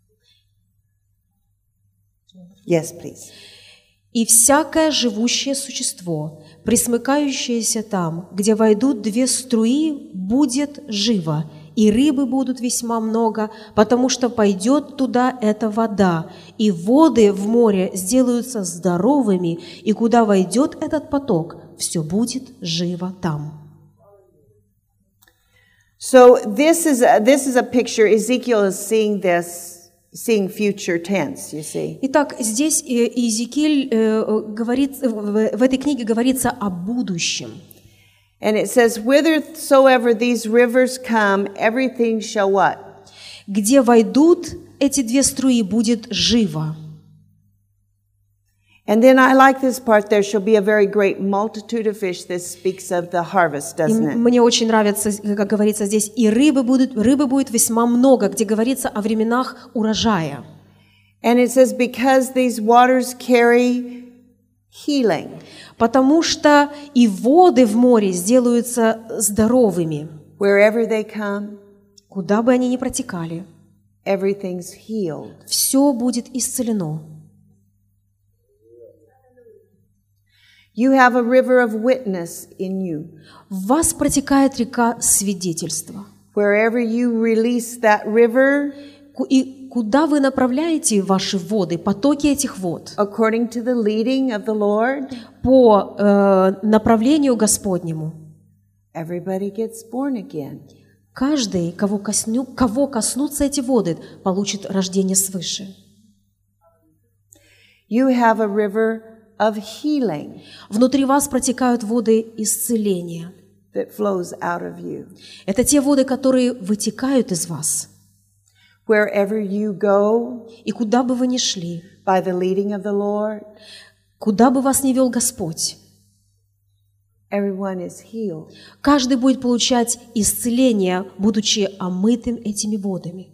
Yes, please. «И всякое живущее существо, присмыкающееся там, где войдут две струи, будет живо, и рыбы будут весьма много, потому что пойдет туда эта вода, и воды в море сделаются здоровыми, и куда войдет этот поток, все будет живо там». So this is a picture. Ezekiel is seeing this, seeing future tense, you see. Итак, здесь Иезекииль говорит, в этой книге говорится о будущем. And it says, whithersoever these rivers come, everything shall what? Где войдут эти две струи, будет живо. And then I like this part, there shall be a very great multitude of fish. This speaks of the harvest, doesn't it? Мне очень нравится, как говорится здесь, и рыбы будет весьма много, где говорится о временах урожая. And it says, because these waters carry healing. Потому что и воды в море сделаются здоровыми. Wherever they come, Куда бы они ни протекали, everything's healed. все будет исцелено. You have a river of witness in you. В вас протекает река свидетельства. Wherever you release that river, И куда вы направляете ваши воды, потоки этих вод? according to the leading of the Lord, По направлению Господнему. everybody gets born again. Каждый, кого коснутся эти воды, получит рождение свыше. You have a river of healing Внутри вас протекают воды исцеления. that flows out of you. Это те воды, которые вытекают из вас. Wherever you go, И куда бы вы ни шли, by the leading of the Lord, куда бы вас ни вел Господь, everyone is healed. каждый будет получать исцеление, будучи омытым этими водами.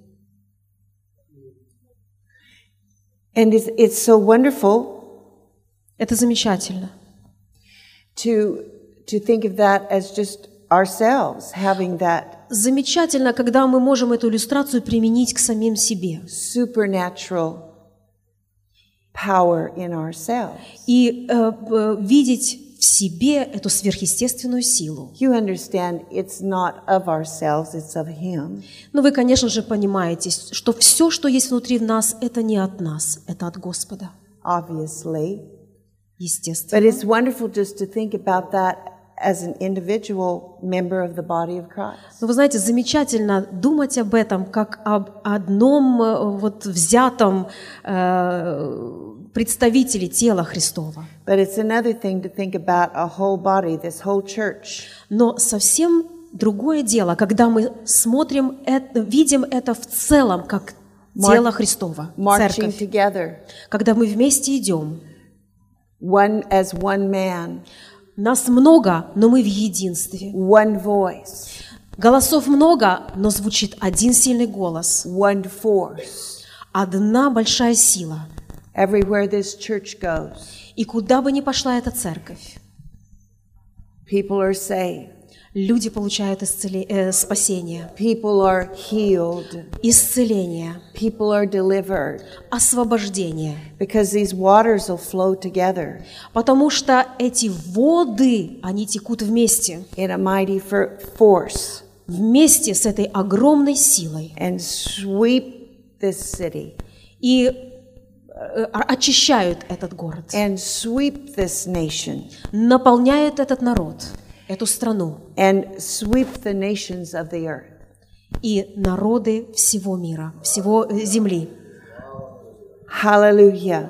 And it's so wonderful Это замечательно. to think of that as just ourselves having that Замечательно, когда мы можем эту иллюстрацию применить к самим себе. supernatural power in ourselves. И видеть в себе эту сверхъестественную силу. You understand it's not of ourselves, it's of Him. Но вы, конечно же, понимаете, что все, что есть внутри нас, это не от нас, это от Господа. Obviously. Естественно. But it's wonderful just to think about that as an individual member of the body of Christ. Но вы знаете, замечательно думать об этом как об одном взятом представителе тела Христова. But it's another thing to think about a whole body, this whole church. Но совсем другое дело, когда мы смотрим, видим это в целом, как тело Христова, Marching церковь. together, Когда мы вместе идем, as one man, нас много, но мы в единстве. one voice, Голосов много, но звучит один сильный голос, one force. одна большая сила. Everywhere this church goes, И куда бы ни пошла эта церковь, people are saved. люди получают спасение, People are healed. исцеление, People are delivered. освобождение. Because these waters will flow together Потому что эти воды, они текут вместе, in a mighty force вместе с этой огромной силой and sweep this city и очищают этот город, and sweep this nation наполняют этот народ, эту страну and sweep the nations of the earth. и народы всего мира, всего земли. Hallelujah.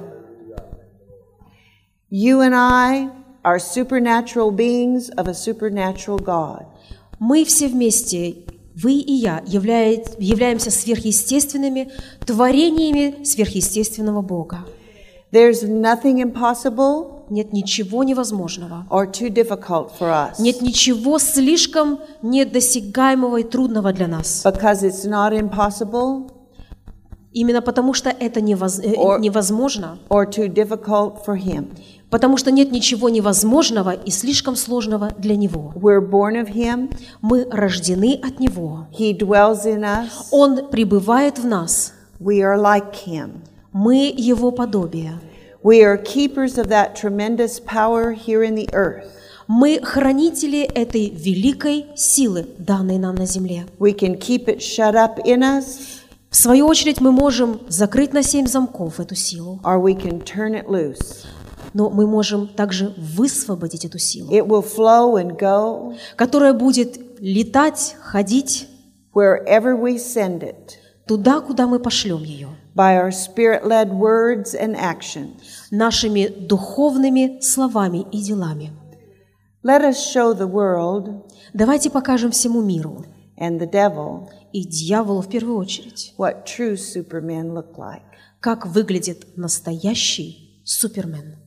You and I are supernatural beings of a supernatural God. Мы все вместе, вы и я, являемся сверхъестественными творениями сверхъестественного Бога. There's nothing impossible Нет ничего невозможного. or too difficult for us Нет ничего слишком недосягаемого и трудного для нас. because it's not impossible Именно потому, что это невозможно, or too difficult for Him. потому что нет ничего невозможного и слишком сложного для Него. We're born of Him. Мы рождены от Него. He dwells in us. Он пребывает в нас. We are like Him. Мы Его подобие. We are keepers of that tremendous power here in the earth. Мы хранители этой великой силы, данной нам на земле. We can keep it shut up in us, В свою очередь мы можем закрыть на 7 замков эту силу, or we can turn it loose. но мы можем также высвободить эту силу, It will flow and go которая будет летать, ходить wherever we send it туда, куда мы пошлем ее, by our spirit-led words and actions. нашими духовными словами и делами. Let us show the world Давайте покажем всему миру and the devil и дьяволу в первую очередь, what true supermen look like. как выглядит настоящий супермен.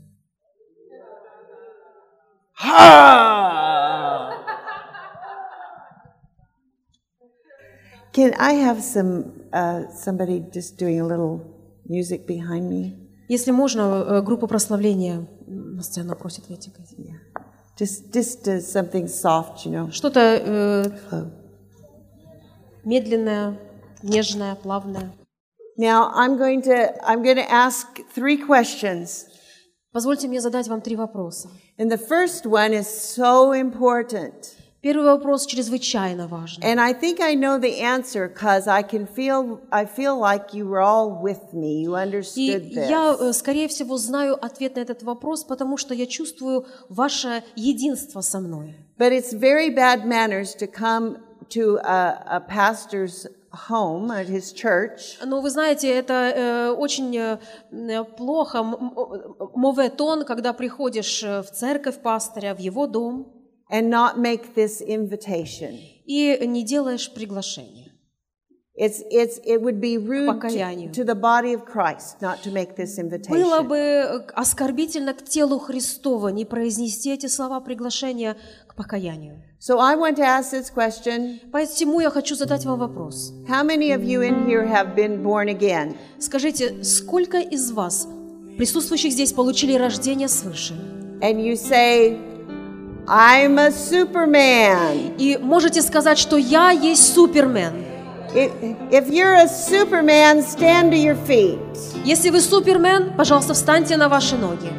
Can I have somebody just doing a little music behind me? Если можно, группа прославления на сцену просит выйти. Just something soft, you know. Что-то медленное, нежное, плавное. Now I'm going to ask 3 questions. Позвольте мне задать вам 3 вопроса. And the first one is so important. Первый вопрос чрезвычайно важен. And I think I know the answer because I feel like you were all with me. You understood И this. я, скорее всего, знаю ответ на этот вопрос, потому что я чувствую ваше единство со мной. But it's very bad manners to come to a pastor's home at his church Но вы знаете, это очень плохо, mauvais ton, когда приходишь в церковь пастыря, в его дом, and not make this invitation. и не делаешь приглашение. It would be rude покаянию. to the body of Christ not to make this Было invitation. бы оскорбительно к телу Христова не произнести эти слова приглашения к покаянию. So I want to ask this question. Поэтому я хочу задать вам вопрос. How many of you in here have been born again? Скажите, сколько из вас, присутствующих здесь, получили рождение свыше? And you say, I'm a superman. И можете сказать, что я есть супермен. If you're a superman, stand to your feet. Если вы супермен, пожалуйста, встаньте на ваши ноги.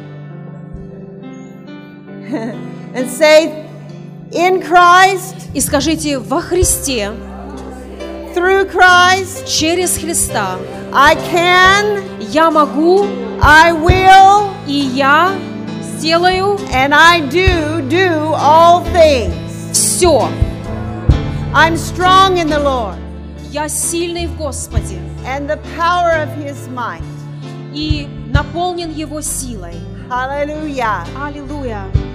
And say, in Christ, И скажите, во Христе, through Christ, через Христа, I can, я могу, I will, и я сделаю and I do all things. все. I'm strong in the Lord Я сильный в Господе and the power of His might. и наполнен Его силой. Hallelujah. Аллилуйя.